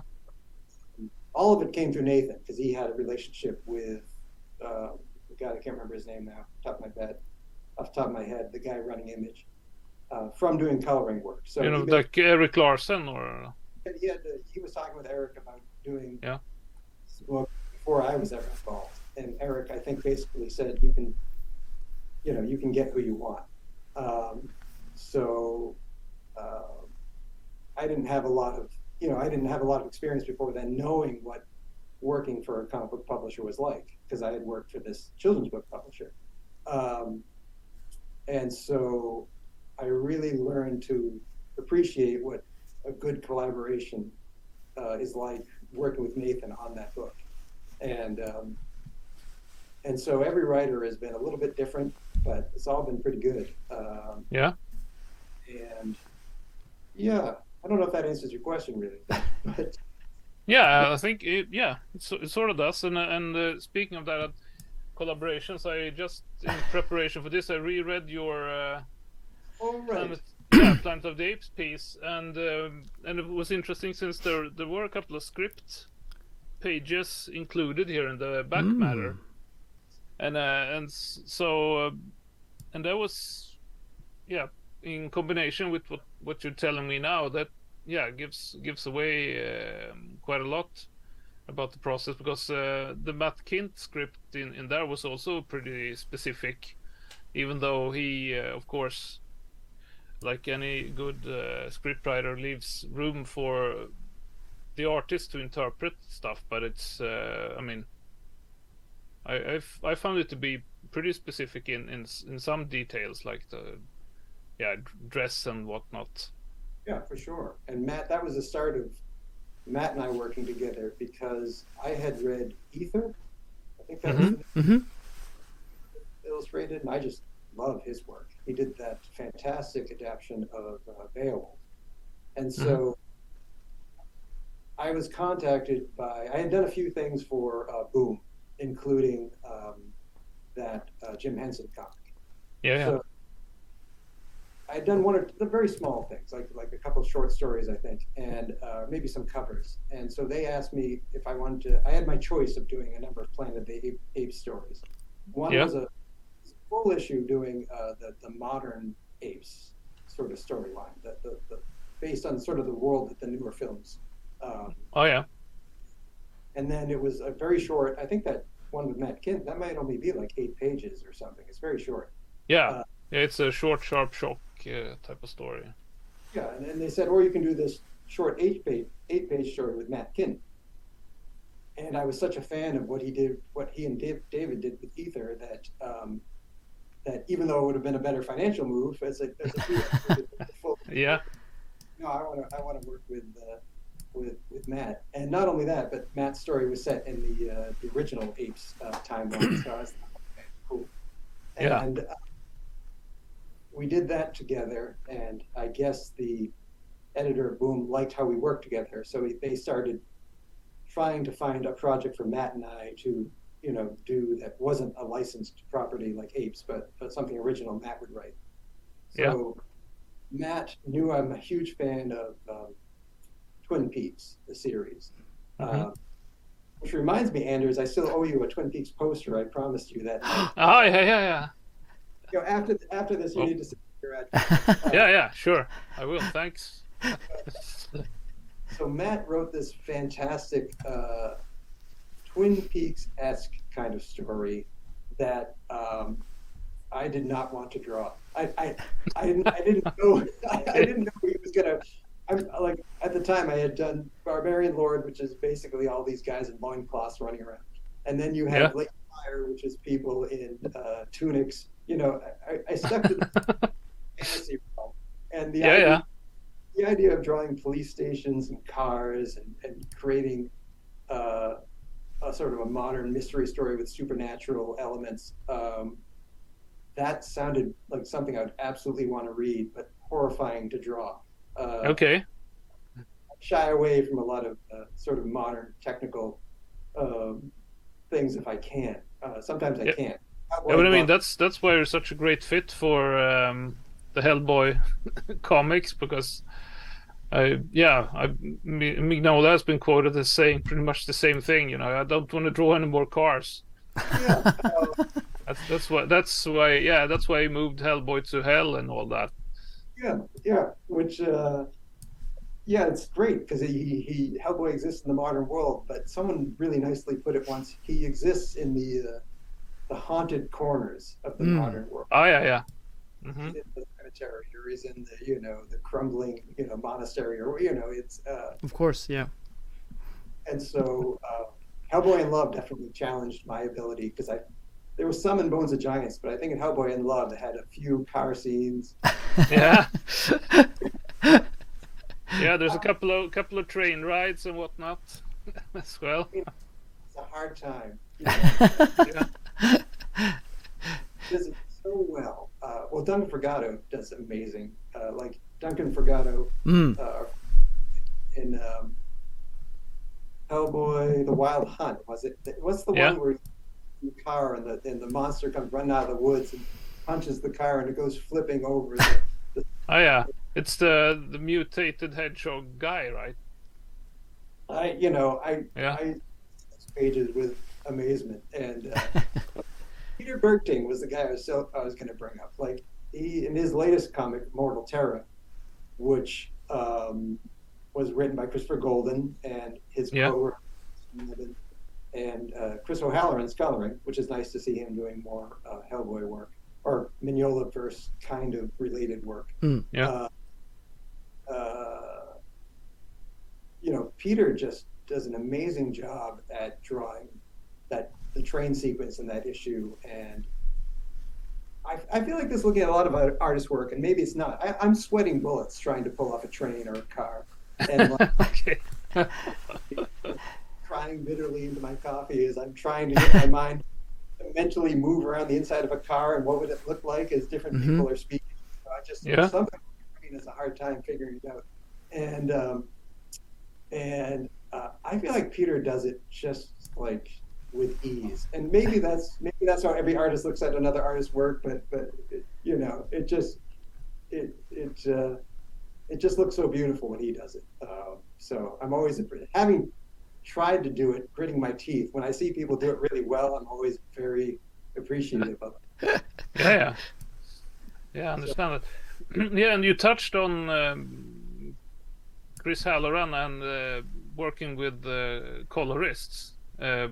all of it came through Nathan because he had a relationship with uh, the guy, I can't remember his name now, top of my head, off the top of my head, the guy running Image uh, from doing coloring work. So You know, he, like Eric Larson or he, had to, he was talking with Eric about doing Yeah. this book before I was ever involved. And Eric, I think, basically said you can, you know, you can get who you want. Um, so uh, I didn't have a lot of, you know, I didn't have a lot of experience before then knowing what working for a comic book publisher was like, because I had worked for this children's book publisher. Um, and so I really learned to appreciate what a good collaboration uh, is like working with Nathan on that book. And um, and so every writer has been a little bit different, but it's all been pretty good. Um, Yeah. and yeah, I don't know if that answers your question really, but Yeah, I think it, yeah, it, so- it sort of does. And uh, and uh, speaking of that, uh, collaborations, I just in preparation for this, I reread your uh, all right. Planet, yeah, Planet of the Apes piece, and um, and it was interesting since there there were a couple of script pages included here in the back Mm. matter, and uh, and s- so uh, and that was yeah, in combination with what what you're telling me now, that yeah gives gives away um, quite a lot about the process, because uh, the Matt Kint script in in there was also pretty specific, even though he uh, of course, like any good uh, scriptwriter, leaves room for the artist to interpret stuff, but it's uh, I mean I I've, I found it to be pretty specific in in s- in some details, like the yeah d- dress and whatnot. Yeah, for sure. And Matt, that was the start of Matt and I working together because I had read Ether. I think that was Mhm. the Mm-hmm. illustrated, and I just love his work. He did that fantastic adaptation of uh, Beowulf. And so I was contacted by, I had done a few things for uh, Boom, including um, that uh, Jim Henson comic. Yeah, yeah. So I had done one or the very small things, like like a couple of short stories, I think, and uh, maybe some covers. And so they asked me if I wanted to. I had my choice of doing a number of Planet of the Ape, Apes stories. One Yeah. was a full issue doing uh, the the modern apes sort of storyline, the, the, the based on sort of the world that the newer films. Um, Oh yeah. and then it was a very short. I think that one with Matt Kint, that might only be like eight pages or something. It's very short. Yeah. Uh, Yeah, it's a short, sharp shock uh, type of story. Yeah, and then they said, or you can do this short eight page eight page story with Matt Kint. And I was such a fan of what he did, what he and Dave, David did with Ether, that um, that even though it would have been a better financial move, as a, as a full, Yeah. no, I want to I want to work with uh, with with Matt. And not only that, but Matt's story was set in the uh, the original Apes uh, timeline. So I was okay, cool. Yeah. And uh, we did that together, and I guess the editor of Boom liked how we worked together, so we, they started trying to find a project for Matt and I to, you know, do that wasn't a licensed property like Apes, but, but something original Matt would write. So Matt knew I'm a huge fan of um, Twin Peaks, the series. Mhm. Uh, which reminds me, Anders, I still owe you a Twin Peaks poster. I promised you that. Oh yeah, yeah, yeah. You know, after after this, you Oh. need to send your address. Yeah, yeah, sure. I will. Thanks. So Matt wrote this fantastic uh, Twin Peaks-esque kind of story that um, I did not want to draw. I I, I didn't I didn't know I, I didn't know he was gonna. I'm like at the time I had done Barbarian Lord, which is basically all these guys in loincloths running around, and then you have Yeah. Lake Fire, which is people in uh, tunics. You know, I, I stuck to the fantasy realm, and the Yeah, idea, yeah. the idea of drawing police stations and cars and, and creating uh, a sort of a modern mystery story with supernatural elements. Um, that sounded like something I would absolutely want to read, but horrifying to draw. Uh, Okay. Shy away from a lot of uh, sort of modern technical um, things if I can. Uh, sometimes I Yeah. can't. Yeah, but I mean that's that's why you're such a great fit for um, the Hellboy comics, because I yeah I Mi- Mignola has been quoted as saying pretty much the same thing. You know, I don't want to draw any more cars. Yeah, uh, That's that's why that's why yeah that's why he moved Hellboy to hell and all that. yeah, yeah. Which uh, yeah, it's great because he, he Hellboy exists in the modern world, but someone really nicely put it once. He exists in the uh, the haunted corners of the Mm. modern world. Oh yeah yeah. hmm He's in the cemetery, or he's in the you know the crumbling you know monastery, or you know it's uh, Of course, yeah. and so uh, Hellboy in Love definitely challenged my ability because I there was some in Bones of Giants, but I think in Hellboy in Love it had a few car scenes. Yeah. Yeah, there's a couple of couple of train rides and whatnot as well. It's a hard time. You know, Yeah. does it so well. Uh, well, Duncan Furgado does amazing. Uh, like Duncan Furgado Mm. uh, in um, Hellboy: The Wild Hunt. Was it? What's the Yeah. one where the car and the and the monster comes running out of the woods and punches the car and it goes flipping over? The, the, Oh yeah, it's the the mutated hedgehog guy, right? I you know I Yeah. I those pages with amazement, and uh, Peter Bergting was the guy I was so I was going to bring up. Like he in his latest comic, Mortal Terra, which um, was written by Christopher Golden and his Yeah. co-writer and uh, Chris O'Halloran's coloring, which is nice to see him doing more uh, Hellboy work or Mignola-verse kind of related work. Mm. Yeah. Uh, uh, you know, Peter just does an amazing job at drawing that the train sequence in that issue, and I, I feel like this looking at a lot of artist work, and maybe it's not. I, I'm sweating bullets trying to pull off a train or a car, and like, Okay. crying bitterly into my coffee as I'm trying to get my mind to mentally move around the inside of a car and what would it look like as different Mhm. people are speaking. So I just Yeah. something has a hard time figuring it out, and um, and uh, I feel like Peter does it just like with ease, and maybe that's maybe that's how every artist looks at another artist's work, but but it, you know it just it it uh, it just looks so beautiful when he does it. Uh, so I'm always having tried to do it, gritting my teeth. When I see people do it really well, I'm always very appreciative of it. Yeah, yeah. Yeah, I understand that. Yeah, and you touched on um, Chris Halloran and uh, working with uh, colorists. Uh,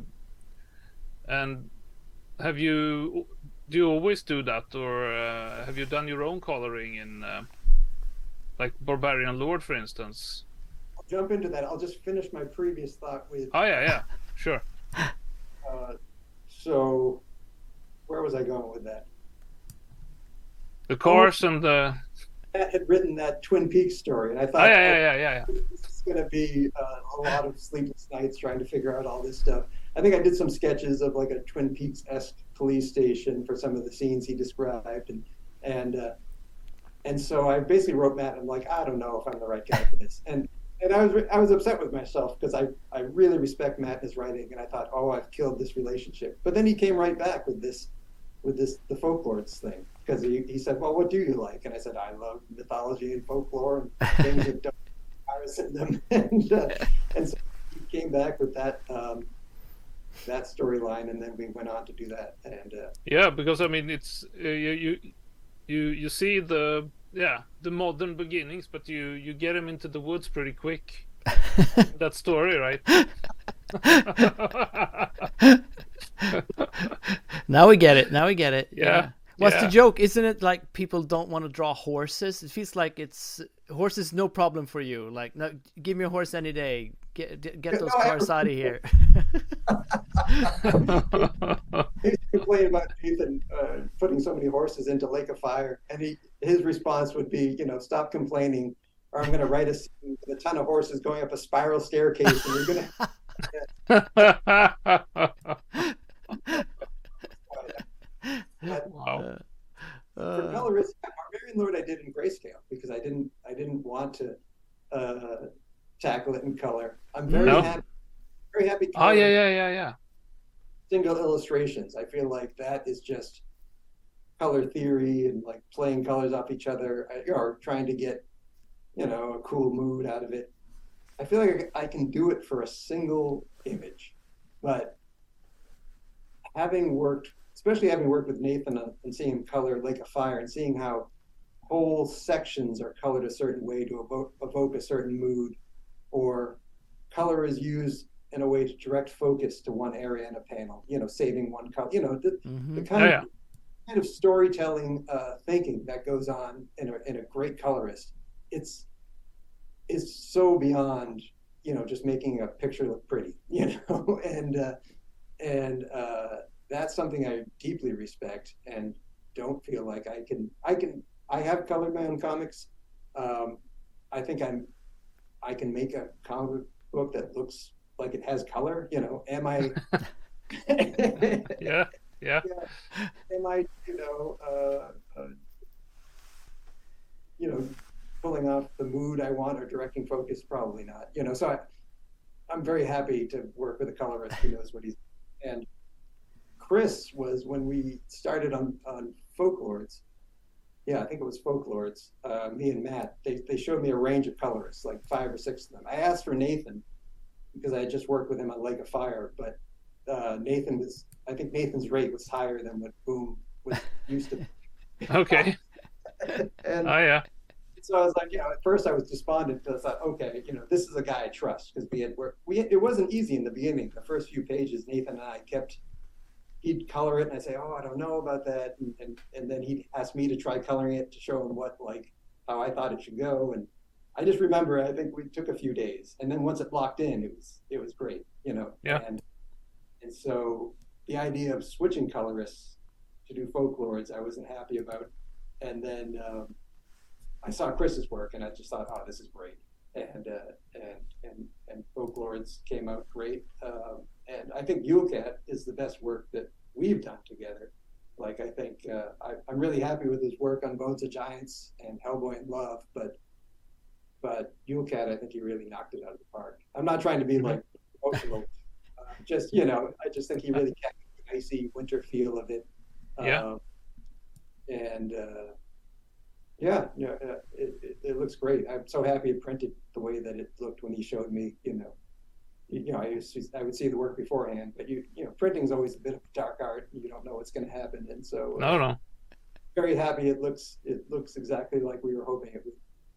and have you do you always do that, or uh, have you done your own coloring in, uh, like Barbarian Lord, for instance? I'll jump into that. I'll just finish my previous thought with. Oh yeah, yeah, sure. Uh, so, where was I going with that? The cars and the. Matt had written that Twin Peaks story, and I Oh thought, yeah, yeah, yeah, yeah, yeah. this is going to be uh, a lot of sleepless nights trying to figure out all this stuff. I think I did some sketches of like a Twin Peaks-esque police station for some of the scenes he described, and and uh, and so I basically wrote Matt. And I'm like, I don't know if I'm the right guy for this, and and I was I was upset with myself because I I really respect Matt and his writing, and I thought, oh, I've killed this relationship. But then he came right back with this with this the folklords thing. Because he, he said, well, what do you like? And I said, I love mythology and folklore and things that don't have virus in them. and, uh, and so he came back with that um, that storyline, and then we went on to do that. And uh, Yeah, because I mean, it's uh, you you you you see the yeah the modern beginnings, but you you get him into the woods pretty quick. That story, right? Now we get it. Now we get it. Yeah. What's yeah. the joke? Isn't it like people don't want to draw horses? It feels like it's horses no problem for you. Like, no, give me a horse any day. Get get those No, cars I- out of here. He complained about Nathan uh, putting so many horses into Lake of Fire, and he his response would be, you know, stop complaining, or I'm going to write a scene with a ton of horses going up a spiral staircase, and you're going to. Wow. For Uh, colorist, Barbarian Lord I did in grayscale because I didn't I didn't want to uh, tackle it in color. I'm very No. happy, very happy. Oh coloring yeah, yeah, yeah, yeah. Single illustrations. I feel like that is just color theory and like playing colors off each other, or trying to get, you know, a cool mood out of it. I feel like I can do it for a single image, but having worked, especially having worked with Nathan and seeing him color Lake of Fire and seeing how whole sections are colored a certain way to evoke, evoke a certain mood, or color is used in a way to direct focus to one area in a panel, you know, saving one color, you know, the, mhm. the kind, Yeah, of, kind of storytelling uh, thinking that goes on in a, in a great colorist. It's, is so beyond, you know, just making a picture look pretty, you know, and, uh, and, uh, that's something I deeply respect and don't feel like I can, I can, I have colored my own comics. Um, I think I'm, I can make a comic book that looks like it has color, you know, am I, Yeah, yeah. am I, you know, uh, uh, you know, pulling off the mood I want or directing focus? Probably not, you know, so I, I'm very happy to work with a colorist who knows what he's, and Chris was when we started on, on Folklords. Yeah, I think it was Folklords. Uh, me and Matt, they, they showed me a range of colorists, like five or six of them. I asked for Nathan because I had just worked with him on Lake of Fire, but uh, Nathan was, I think Nathan's rate was higher than what Boom was used to. Okay. And Oh yeah. so I was like, you know, at first I was despondent because I thought, okay, you know, this is a guy I trust, because we had worked, we, it wasn't easy in the beginning. The first few pages, Nathan and I kept, he'd color it and I'd say, oh, I don't know about that. And, and, and then he'd ask me to try coloring it to show him what, like, how I thought it should go. And I just remember, I think we took a few days, and then once it locked in, it was, it was great, you know? Yeah. And, and so the idea of switching colorists to do Folklords, I wasn't happy about. And then um, I saw Chris's work and I just thought, oh, this is great. And, uh, and, and, and Folklords came out great. Um, and I think Yulecat is the best work that we've done together. Like, I think uh, I, I'm really happy with his work on Bones of Giants and Hellboy in Love, but but Yulecat, I think he really knocked it out of the park. I'm not trying to be like emotional, uh, just, you know, I just think he really captured the icy winter feel of it. Yeah. Um, and uh, yeah, yeah, uh, it, it, it looks great. I'm so happy it printed the way that it looked when he showed me, you know. You, you know, I used to, I would see the work beforehand, but you, you know, printing is always a bit of dark art. You don't know what's going to happen, and so uh, No, no. very happy it looks, it looks exactly like we were hoping it would.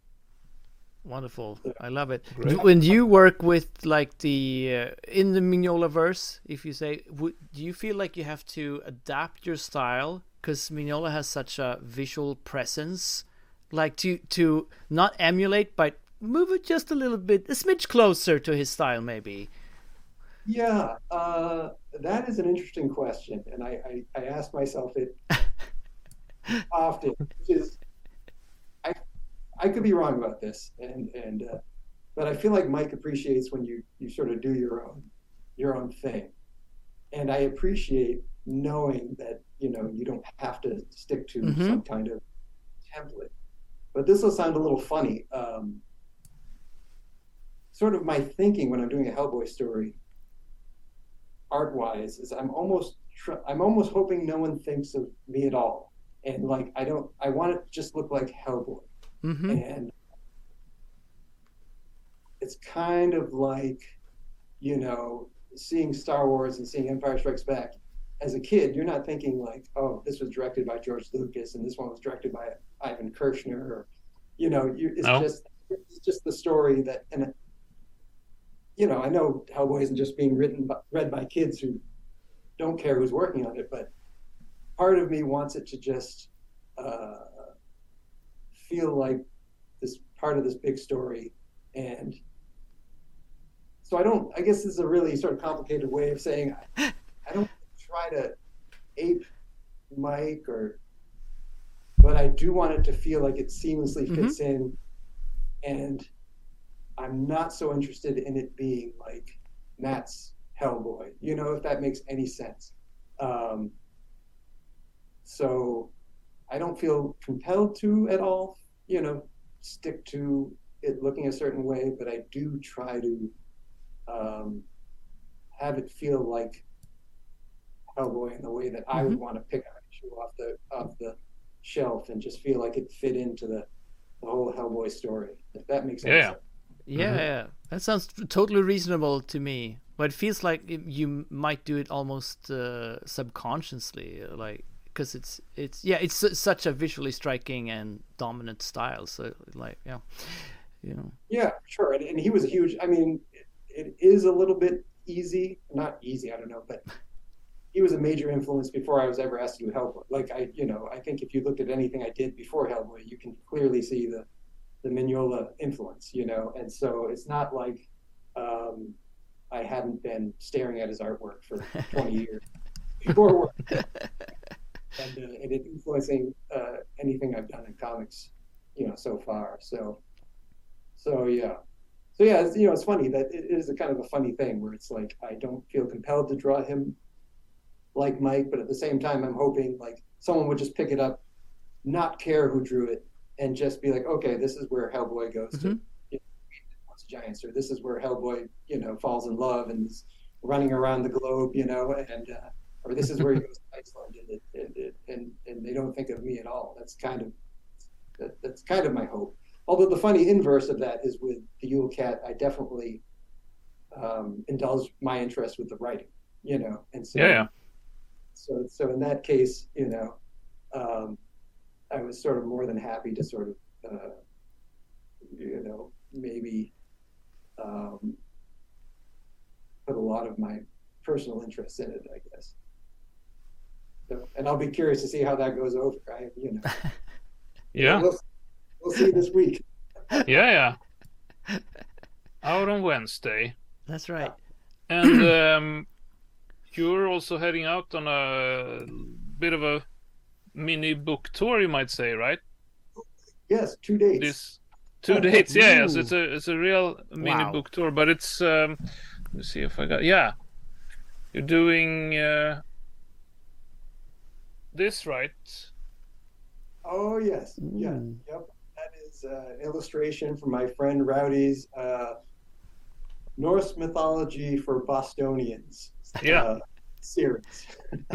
Wonderful. I love it. Great. When you work with like the uh, in the Mignola verse, if you say, w- do you feel like you have to adapt your style because Mignola has such a visual presence, like to to not emulate, but move it just a little bit, a smidge closer to his style, maybe? Yeah, uh, that is an interesting question, and I, I, I ask myself it often, which is, I I could be wrong about this, and and uh, but I feel like Mike appreciates when you you sort of do your own your own thing, and I appreciate knowing that, you know, you don't have to stick to Mhm. some kind of template. But this will sound a little funny. Um, sort of my thinking when I'm doing a Hellboy story, art-wise, is I'm almost tr- I'm almost hoping no one thinks of me at all, and like I don't I want it to just look like Hellboy. Mm-hmm. And it's kind of like, you know, seeing Star Wars and seeing Empire Strikes Back. As a kid, you're not thinking like, oh, this was directed by George Lucas and this one was directed by Ivan Kershner, or, you know, you, it's No. just it's just the story that, and you know, I know Hellboy isn't just being written by, read by kids who don't care who's working on it, but part of me wants it to just uh, feel like this part of this big story. And so I don't, I guess this is a really sort of complicated way of saying, I, I don't try to ape Mike, or, but I do want it to feel like it seamlessly fits mm-hmm. in. And I'm not so interested in it being like Matt's Hellboy, you know, if that makes any sense. Um, so I don't feel compelled to at all, you know, stick to it looking a certain way, but I do try to um, have it feel like Hellboy in the way that mm-hmm. I would want to pick an issue off the off the shelf and just feel like it fit into the, the whole Hellboy story. If that makes sense. Yeah, yeah, mm-hmm. yeah. That sounds totally reasonable to me. But it feels like you might do it almost uh, subconsciously, like because it's it's yeah, it's such a visually striking and dominant style. So like yeah, you know. Yeah, sure. And, and he was a huge. I mean, it, it is a little bit easy, not easy. I don't know, but he was a major influence before I was ever asked to do Hellboy. Like I, you know, I think if you looked at anything I did before Hellboy, you can clearly see the the Mignola influence. You know, and so it's not like. Um, I hadn't been staring at his artwork for twenty years before work, and, uh, and it influencing uh, anything I've done in comics, you know, so far. So, so yeah, so yeah, it's, you know, it's funny that it is a kind of a funny thing where it's like I don't feel compelled to draw him like Mike, but at the same time, I'm hoping like someone would just pick it up, not care who drew it, and just be like, okay, this is where Hellboy goes mm-hmm. to. Giants, or this is where Hellboy, you know, falls in love and is running around the globe, you know, and uh, or this is where he goes to Iceland, and, and, and and they don't think of me at all. That's kind of that, that's kind of my hope. Although the funny inverse of that is with the Yule Cat, I definitely um, indulged my interest with the writing, you know, and so yeah, yeah. so so in that case, you know, um, I was sort of more than happy to sort of, uh, you know, maybe. Um, put a lot of my personal interest in it, I guess. So, and I'll be curious to see how that goes over. I, you know. Yeah. We'll, we'll see this week. yeah, yeah. Out on Wednesday. That's right. And um, you're also heading out on a bit of a mini book tour, you might say, right? Yes, two dates. This. Two dates, yeah, yes, it's a it's a real mini wow. book tour, but it's um, let me see if I got yeah, you're doing uh, this right? Oh yes, mm. yeah, yep. That is uh, an illustration from my friend Rowdy's uh, Norse mythology for Bostonians. Yeah, uh, series.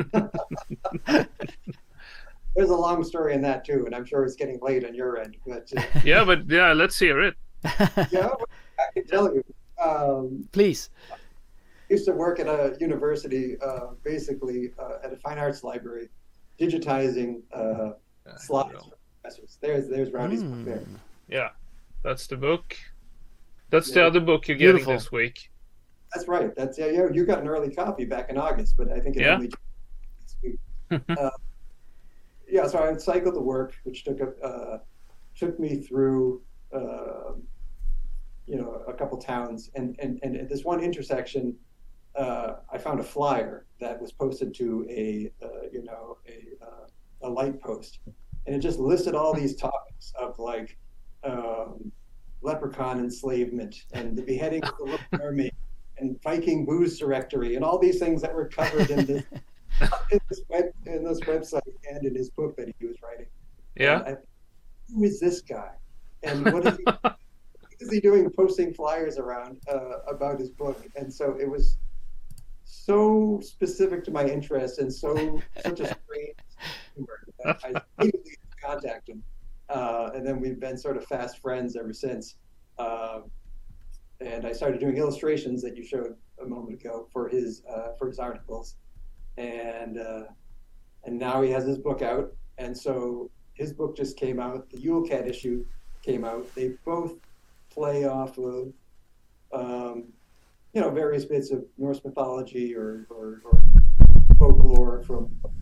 There's a long story in that too, and I'm sure it's getting late on your end. But uh, yeah, but yeah, let's hear it. Yeah, I can tell you. Um, Please. I used to work at a university, uh, basically uh, at a fine arts library, digitizing uh, yeah, slides for professors. There's there's Rowdy's mm. book there. Yeah, that's the book. That's yeah. the other book you're Beautiful. getting this week. That's right. That's yeah. You, you got an early copy back in August, but I think it yeah. only this week. uh, Yeah, so I cycled to work, which took a, uh, took me through, uh, you know, a couple towns, and and and at this one intersection, uh, I found a flyer that was posted to a, uh, you know, a uh, a light post, and it just listed all these topics of like um, leprechaun enslavement and the beheading of the little mermaid and Viking booze directory and all these things that were covered in this. in this web in this website and in his book that he was writing. Yeah. I, who is this guy? And what is he, what is he doing posting flyers around uh, about his book? And so it was so specific to my interest and so such a strange humor that I immediately contacted him. Uh, and then we've been sort of fast friends ever since. Uh, and I started doing illustrations that you showed a moment ago for his uh, for his articles. And uh, and now he has his book out, and so his book just came out. The Yule Cat issue came out. They both play off of, um, you know, various bits of Norse mythology or, or, or folklore from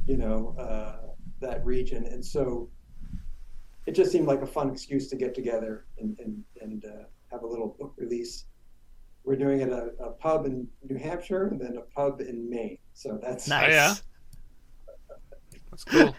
you know, uh, that region. And so it just seemed like a fun excuse to get together and, and, and uh, have a little book release. We're doing it at a, a pub in New Hampshire and then a pub in Maine. So that's nice. Oh, yeah. That's cool.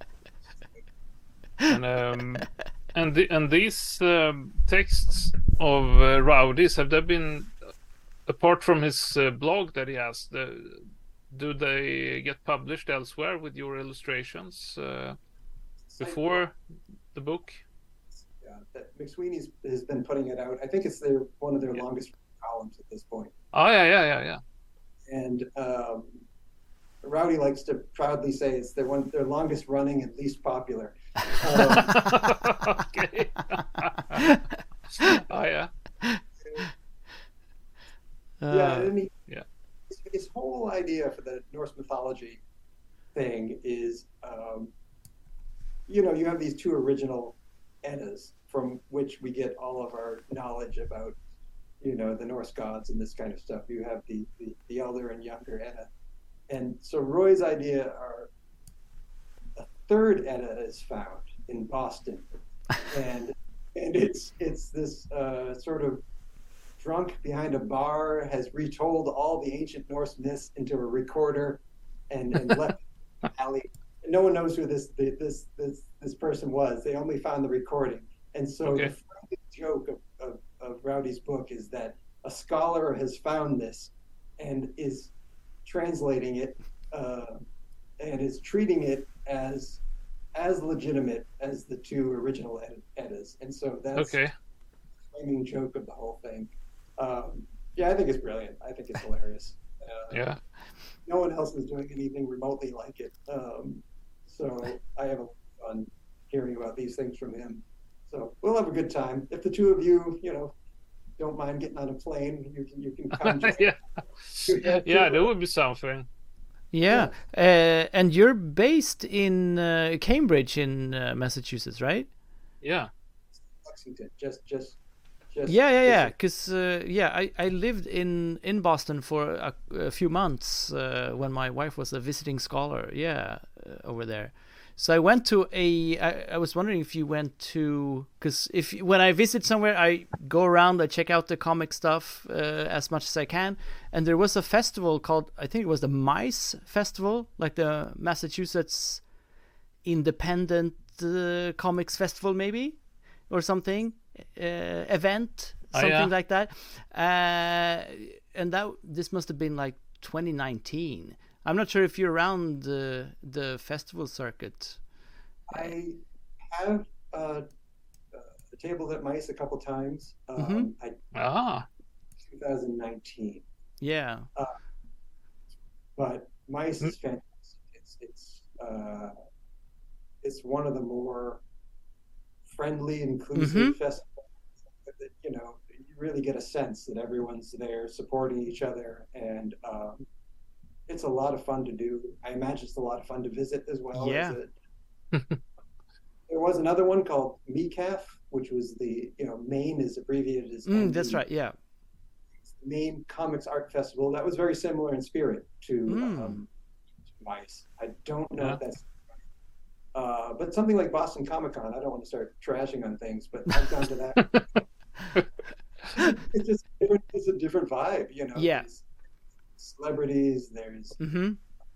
and um, and the, and these um, texts of uh, Rowdy's, have they been, apart from his uh, blog that he has, the, do they get published elsewhere with your illustrations uh, before the book? Yeah, that McSweeney's has been putting it out. I think it's their one of their yeah. longest columns at this point. Oh yeah, yeah, yeah, yeah. And um, Rowdy likes to proudly say it's their one their longest running and least popular. Um, okay. oh yeah. Yeah, and he, yeah. His, his whole idea for the Norse mythology thing is, um, you know, you have these two original Eddas from which we get all of our knowledge about, you know, the Norse gods and this kind of stuff. You have the the, the elder and younger Edda, and so Roy's idea are a third Edda is found in Boston, and and it's it's this uh, sort of drunk behind a bar has retold all the ancient Norse myths into a recorder and, and left the alley. No one knows who this this this this person was. They only found the recording. And so okay. the joke of, of, of Rowdy's book is that a scholar has found this and is translating it uh, and is treating it as as legitimate as the two original ed- Eddas. And so that's okay. the flaming joke of the whole thing. Um, yeah, I think it's brilliant. I think it's hilarious. Uh, yeah. No one else is doing anything remotely like it. Um, so I have a fun hearing about these things from him. So we'll have a good time. If the two of you, you know, don't mind getting on a plane, you can you can come. yeah, yeah, that would be something. Yeah, yeah. Uh, and you're based in uh, Cambridge, in uh, Massachusetts, right? Yeah. Lexington, just just. Just yeah, yeah, yeah. Because uh, yeah, I, I lived in, in Boston for a, a few months uh, when my wife was a visiting scholar. Yeah, uh, over there. So I went to a. I, I was wondering if you went to, because if when I visit somewhere, I go around, I check out the comic stuff uh, as much as I can. And there was a festival called, I think it was the MICE Festival, like the Massachusetts Independent uh, Comics Festival, maybe, or something. Uh, event, something oh, yeah. like that, uh, and that this must have been like twenty nineteen. I'm not sure if you're around the the festival circuit. I have uh, uh, tabled at MICE a couple times. Um, mm-hmm. I, ah, twenty nineteen. Yeah. Uh, but MICE mm-hmm. is fantastic. It's it's uh, it's one of the more friendly, inclusive mm-hmm. festivals that, you know, you really get a sense that everyone's there supporting each other, and um, it's a lot of fun to do. I imagine it's a lot of fun to visit as well. Yeah. As there was another one called M E C A F, which was the, you know, Maine is abbreviated as mm, that's right, yeah. Maine Comics Art Festival. That was very similar in spirit to, mm. um, to MICE. I don't know yeah. if that's Uh, but something like Boston Comic Con, I don't want to start trashing on things, but I've gone to that. It's just different, it's a different vibe, you know. Yeah. There's celebrities, there's. Mm-hmm.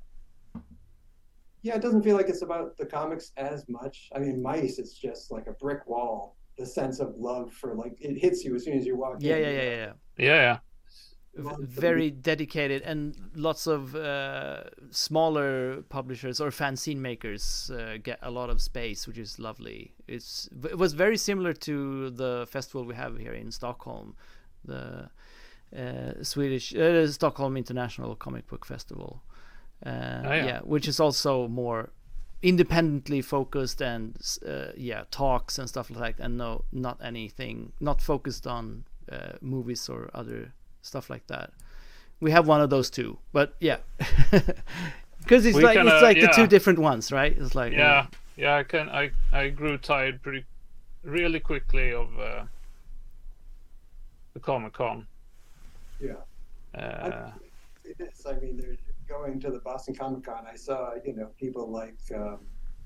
Yeah, it doesn't feel like it's about the comics as much. I mean, MICE, it's just like a brick wall. The sense of love for, like, it hits you as soon as you walk yeah, in. Yeah, yeah, yeah, yeah. Yeah, yeah. Very dedicated, and lots of uh, smaller publishers or fanzine makers uh, get a lot of space, which is lovely. It's it was very similar to the festival we have here in Stockholm, the uh, Swedish uh, Stockholm International Comic Book Festival. Uh, oh, yeah. yeah, which is also more independently focused and uh, yeah, talks and stuff like that, and no, not anything, not focused on uh, movies or other stuff like that. We have one of those too, but yeah, because it's we like kinda, it's like yeah. the two different ones, right? It's like yeah, uh, yeah. I can I I grew tired pretty really quickly of uh, the Comic Con. Yeah, uh, I, it is. I mean, there's going to the Boston Comic Con, I saw, you know, people like, um,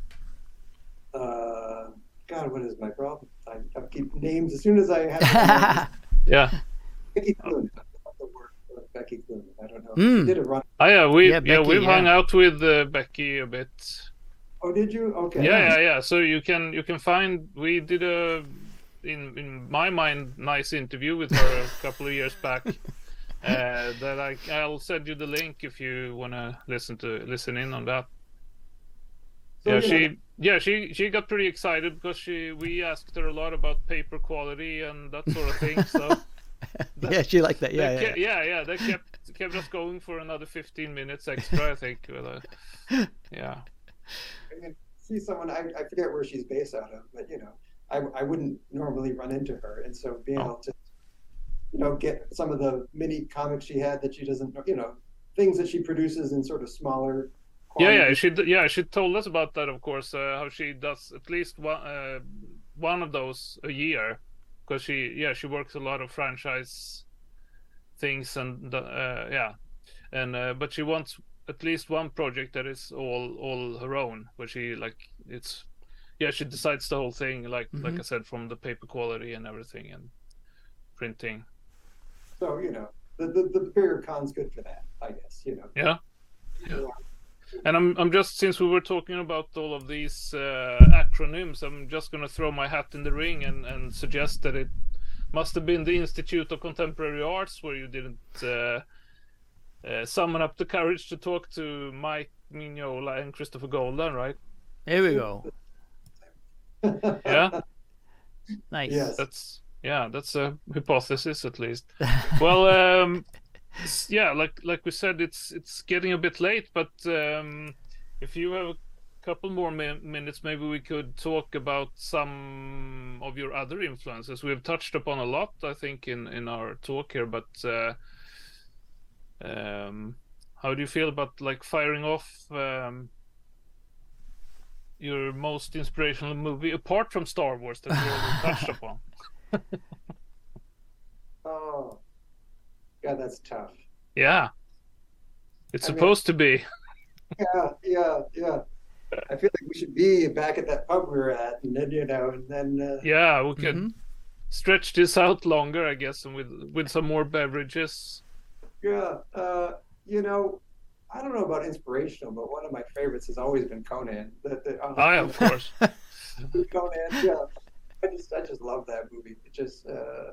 uh, God, what is my problem? I, I keep names as soon as I have. Yeah. Becky Cloonan. I love the work of Becky Cloonan. I don't know. Mm. She did a run. Oh yeah, we Yeah, yeah, Becky, we've yeah. hung out with uh, Becky a bit. Oh, did you? Okay. Yeah, yeah, yeah. So you can you can find we did a in in my mind nice interview with her a couple of years back. Uh, that I I'll send you the link if you wanna listen to listen in on that. So, Yeah, you she know, yeah she she got pretty excited because she we asked her a lot about paper quality and that sort of thing. So Yeah, she liked that. Yeah, they yeah. ke- yeah, yeah, they kept kept us going for another fifteen minutes extra, I think. With a, yeah. I mean, she's someone, I, I forget where she's based out of, but, you know, I, I wouldn't normally run into her. And so being Oh. able to, you know, get some of the mini comics she had that she doesn't, you know, things that she produces in sort of smaller Yeah, yeah, quantities. she d- yeah she told us about that, of course. Uh, how she does at least one uh, one of those a year, because she yeah she works a lot of franchise things and uh, yeah, and uh, but she wants at least one project that is all all her own, where she like it's yeah she decides the whole thing, like like I said, from the paper quality and everything and printing. So, you know, the, the, the bigger con's good for that, I guess, you know. Yeah. Yeah. And I'm I'm just since we were talking about all of these uh, acronyms, I'm just gonna throw my hat in the ring and, and suggest that it must have been the Institute of Contemporary Arts where you didn't uh, uh, summon up the courage to talk to Mike Mignola and Christopher Golden, right? Here we go. Yeah, Nice. Yes. that's yeah, that's a hypothesis at least. Well, um, s- yeah, like like we said, it's it's getting a bit late, but um, if you have a couple more mi- minutes, maybe we could talk about some of your other influences. We've touched upon a lot, I think, in in our talk here, but uh, um, how do you feel about like firing off um, your most inspirational movie apart from Star Wars that we already touched upon? Oh, God, that's tough. Yeah, it's I mean- supposed to be. Yeah, yeah, yeah. I feel like we should be back at that pub we were at, and then, you know, and then, uh, Yeah, we could Mhm. stretch this out longer, I guess, and with with some more beverages. yeah, uh, you know, I don't know about inspirational, but one of my favorites has always been Conan. The, the, uh, Ah, yeah, of course. Conan, yeah. I just, I just love that movie. It just, uh,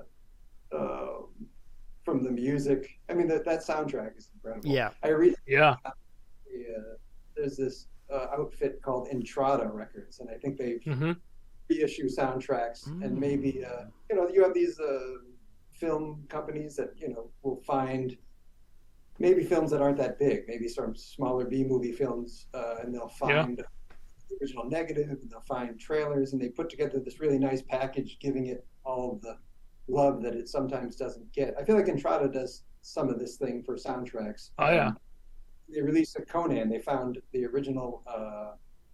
um, from the music. I mean, that that soundtrack is incredible. Yeah. I read. Yeah. Uh, there's this uh, outfit called Entrada Records, and I think they hmm reissue soundtracks, Mm. and maybe uh, you know you have these uh, film companies that you know will find maybe films that aren't that big, maybe some smaller B movie films, uh, and they'll find the original negative, and they'll find trailers, and they put together this really nice package, giving it all of the love that it sometimes doesn't get. I feel like Entrada does some of this thing for soundtracks. Oh, yeah. Um, they released a Conan. They found the original uh,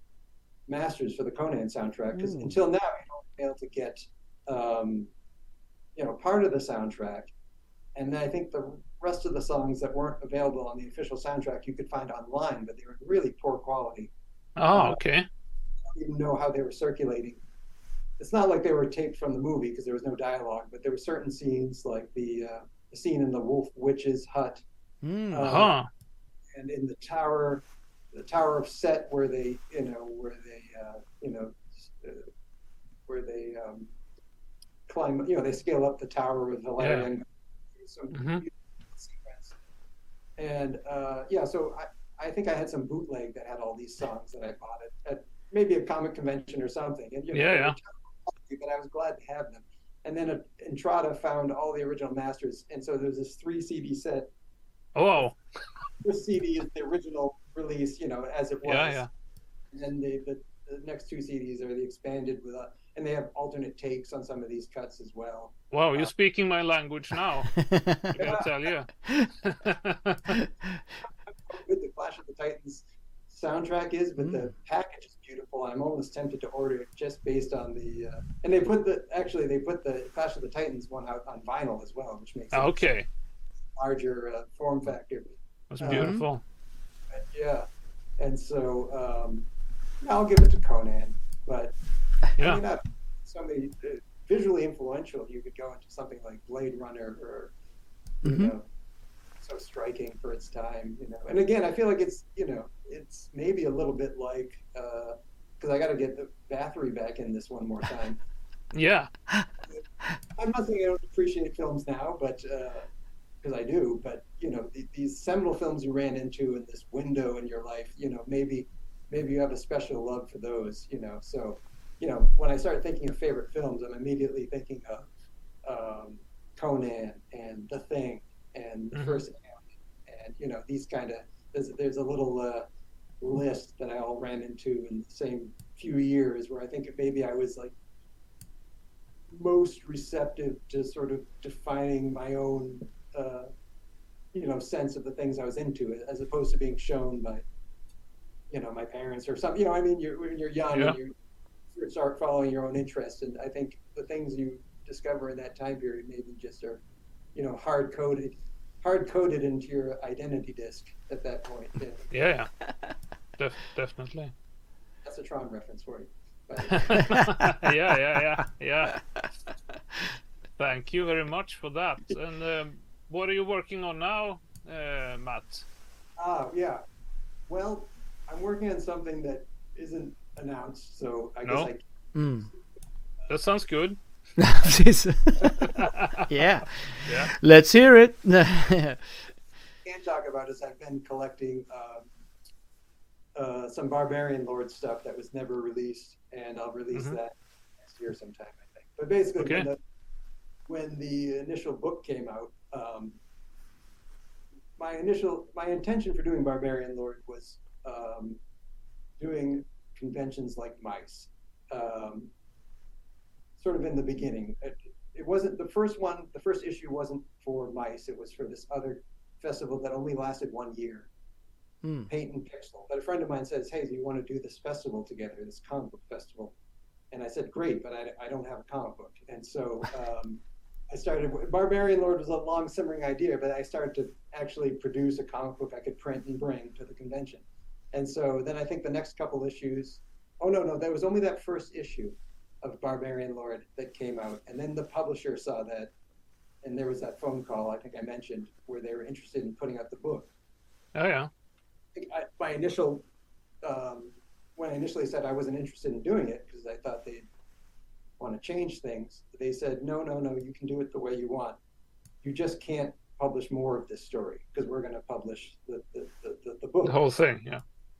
masters for the Conan soundtrack, because Ooh. until now you don't be able to get um, you know part of the soundtrack, and I think the rest of the songs that weren't available on the official soundtrack you could find online, but they were in really poor quality. Oh, okay. I don't even know how they were circulating. It's not like they were taped from the movie because there was no dialogue, but there were certain scenes like the, uh, the scene in the Wolf Witch's hut Mm. Uh, Huh. and in the tower, the Tower of Set, where they, you know, where they, uh, you know, uh, where they um, climb, you know, they scale up the tower with Valerian. Some Mhm. beautiful sequence. And uh, yeah, so I, I think I had some bootleg that had all these songs that I bought at, at maybe a comic convention or something. And you know, Yeah, they yeah. were terrible, but I was glad to have them. And then uh, Entrada found all the original masters, and so there's this three C D set. Oh, wow. This C D is the original release, you know, as it was. Yeah, yeah. And then the, the, the next two C Ds are the expanded with, a, and they have alternate takes on some of these cuts as well. Wow, you're speaking my language now. I gotta tell you. Good the Clash of the Titans soundtrack is, but Mm. the package is beautiful. I'm almost tempted to order it just based on the, uh, and they put the, actually they put the Clash of the Titans one out on vinyl as well, which makes it Okay, a larger uh, form factor. that's Um, beautiful. But yeah, and so um, I'll give it to Conan. But Yeah. I mean, not somebody uh, visually influential. You could go into something like Blade Runner, or you Mhm. know, so striking for its time. You know, and again, I feel like it's you know, it's maybe a little bit like because I got to get the Bathory back in this one more time. Yeah. I'm not saying I don't appreciate films now, but because I do, but you know, th- these seminal films you ran into in this window in your life, you know, maybe maybe you have a special love for those, you know. So, you know, when I start thinking of favorite films, I'm immediately thinking of um, Conan and The Thing and The Mhm. First Alien, and you know, these kind of there's there's a little uh, list that I all ran into in the same few years where I think maybe I was like most receptive to sort of defining my own, uh, you know, sense of the things I was into, as opposed to being shown by, you know, my parents or something. You know, I mean, you're, when you're young Yeah. and you start following your own interests, and I think the things you discover in that time period maybe just are, you know, hard coded, hard coded into your identity disk at that point. You know, Yeah. yeah. Def- definitely. that's a Tron reference for you. But, yeah, yeah, yeah, yeah. Thank you very much for that. And um, what are you working on now, uh, Matt? ah, yeah. Well, I'm working on something that isn't announced, so I No. guess Mm. That sounds good. yeah. Yeah. Let's hear it. I can't talk about is I've been collecting um, uh, some Barbarian Lord stuff that was never released, and I'll release Mhm. that next year sometime, I think. But basically, Okay. when, the, when the initial book came out, um, my initial my intention for doing Barbarian Lord was um, doing conventions like Mice, um, sort of in the beginning. It, it wasn't the first one. The first issue wasn't for Mice. It was for this other festival that only lasted one year. Mm. Paint and Pixel. But a friend of mine says, "Hey, do you want to do this festival together, this comic book festival?" And I said, "Great, but I, I don't have a comic book." And so um, I started. Barbarian Lord was a long simmering idea, but I started to actually produce a comic book I could print and bring to the convention. And so then I think the next couple issues. Oh no, no, there was only that first issue of Barbarian Lord that came out, and then the publisher saw that, and there was that phone call I think I mentioned where they were interested in putting out the book. Oh yeah. I, my initial um, when I initially said I wasn't interested in doing it because I thought they'd want to change things, they said no, no, no, you can do it the way you want. You just can't publish more of this story because we're going to publish the the, the, the the book. The whole thing. Yeah.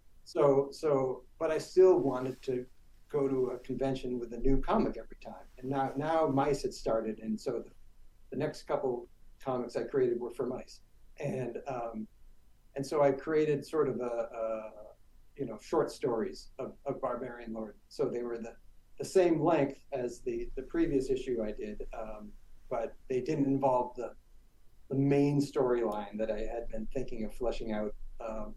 So so, but I still wanted to go to a convention with a new comic every time, and now now Mice had started, and so the, the next couple comics I created were for Mice, and um, and so I created sort of a, a you know short stories of, of Barbarian Lord. So they were the, the same length as the the previous issue I did, um, but they didn't involve the the main storyline that I had been thinking of fleshing out. Um,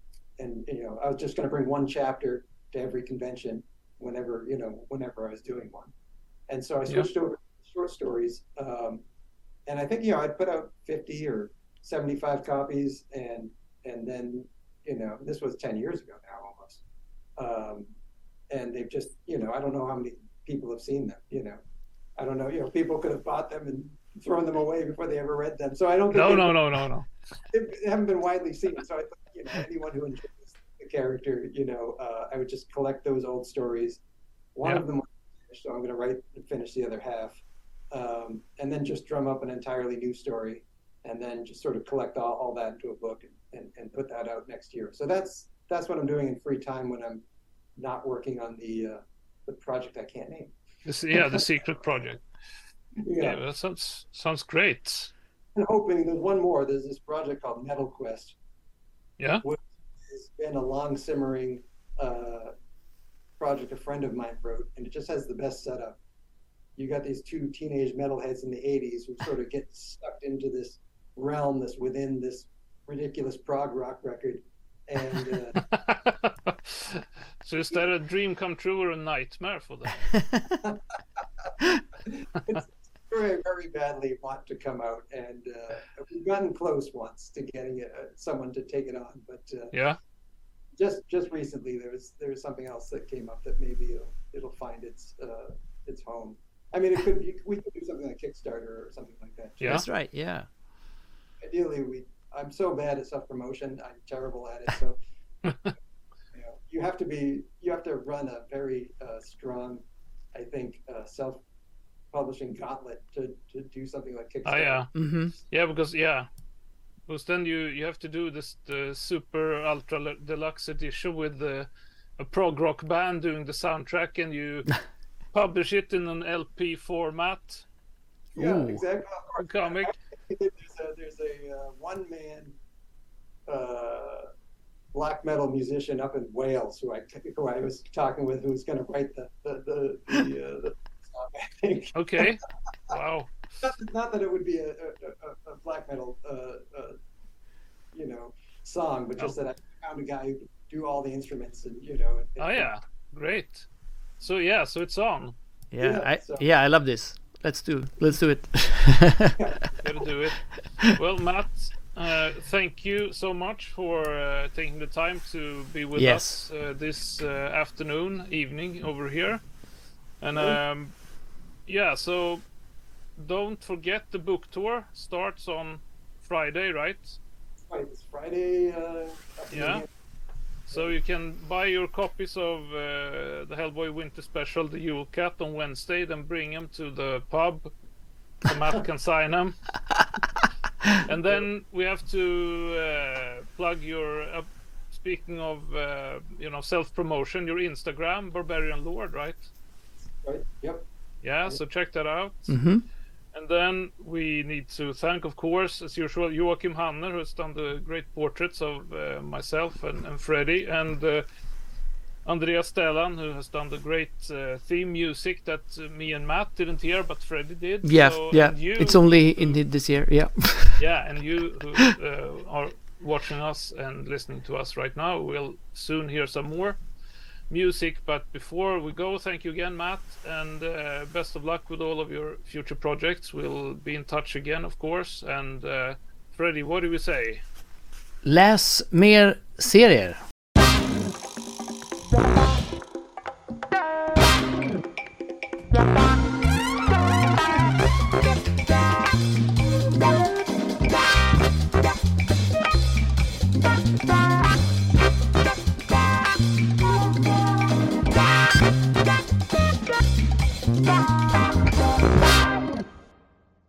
and you know I was just going to bring one chapter to every convention whenever you know whenever I was doing one, and so I switched yeah. over to short stories. Um, and I think you know I'd put out fifty or seventy-five copies, and and then you know this was ten years ago now almost, um, and they've just you know I don't know how many people have seen them. You know, I don't know. You know, people could have bought them and thrown them away before they ever read them. So I don't. Think no, no, no, no, no. They haven't been widely seen. So I thought you know anyone who enjoys the character, you know, uh, I would just collect those old stories. One yeah. of them was finished, so I'm going to write and finish the other half, um, and then just drum up an entirely new story, and then just sort of collect all, all that into a book and, and, and put that out next year. So that's that's what I'm doing in free time when I'm not working on the uh, the project I can't name. This, yeah, the secret project. yeah. yeah, that sounds sounds great. And hoping there's one more. There's this project called Metal Quest. Yeah. Which has been a long simmering uh, project a friend of mine wrote, and it just has the best setup. You got these two teenage metalheads in the eighties who sort of get sucked into this realm that's within this ridiculous prog rock record. And uh, so is that a dream come true or a nightmare for them? it's, very, very badly want to come out, and uh, we've gotten close once to getting uh, someone to take it on, but uh, yeah, just just recently there was there was something else that came up that maybe it'll, it'll find its uh, its home. I mean, it could be, we could do something like Kickstarter or something like that. Yeah, that's right. Yeah. Ideally, we. I'm so bad at self promotion. I'm terrible at it. So, you know, you have to be. You have to run a very uh, strong, I think, uh, self publishing gauntlet to, to do something like Kickstarter. Oh yeah, Mm-hmm. yeah, because yeah, because then you you have to do this the super ultra deluxe edition with the a prog rock band doing the soundtrack, and you publish it in an L P format. Yeah, Ooh. exactly. Of course. Comic. There's a there's a uh, one man uh, black metal musician up in Wales who I who I was talking with, who's going to write the the the, the, uh, the song, I think. Okay. Wow. Not, not that it would be a, a, a black metal, uh, uh, you know, song, but just No. that I found a guy who could do all the instruments, and you know. And, Oh yeah, great. So yeah, so it's on. Yeah. Yeah, I, so- yeah. I love this. Let's do. Let's do it. Gotta do it. Well, Matt, uh, thank you so much for uh, taking the time to be with Yes. us uh, this uh, afternoon, evening over here. And um, yeah, so don't forget the book tour starts on Friday, right? Right, it's Friday. Uh, Yeah. So you can buy your copies of uh, the Hellboy Winter Special, the Yule Cat, on Wednesday, then bring them to the pub so Matt can sign them. And then we have to uh, plug your, uh, speaking of, uh, you know, self-promotion, your Instagram, Barbarian Lord, right? Right. Yep. Yeah, so check that out. Mm-hmm. And then we need to thank, of course, as usual, Joachim Hanner, who has done the great portraits of uh, myself and, and Freddie, and uh, Andreas Stellan, who has done the great uh, theme music that uh, me and Matt didn't hear, but Freddie did. Yeah. So, yeah. and you, It's only in the- this year. Yeah. yeah, and you who uh, are watching us and listening to us right now will soon hear some more music. But before we go, thank you again, Matt, and uh, best of luck with all of your future projects. We'll be in touch again, of course. And uh, Freddie, what do we say? Läs mer serier.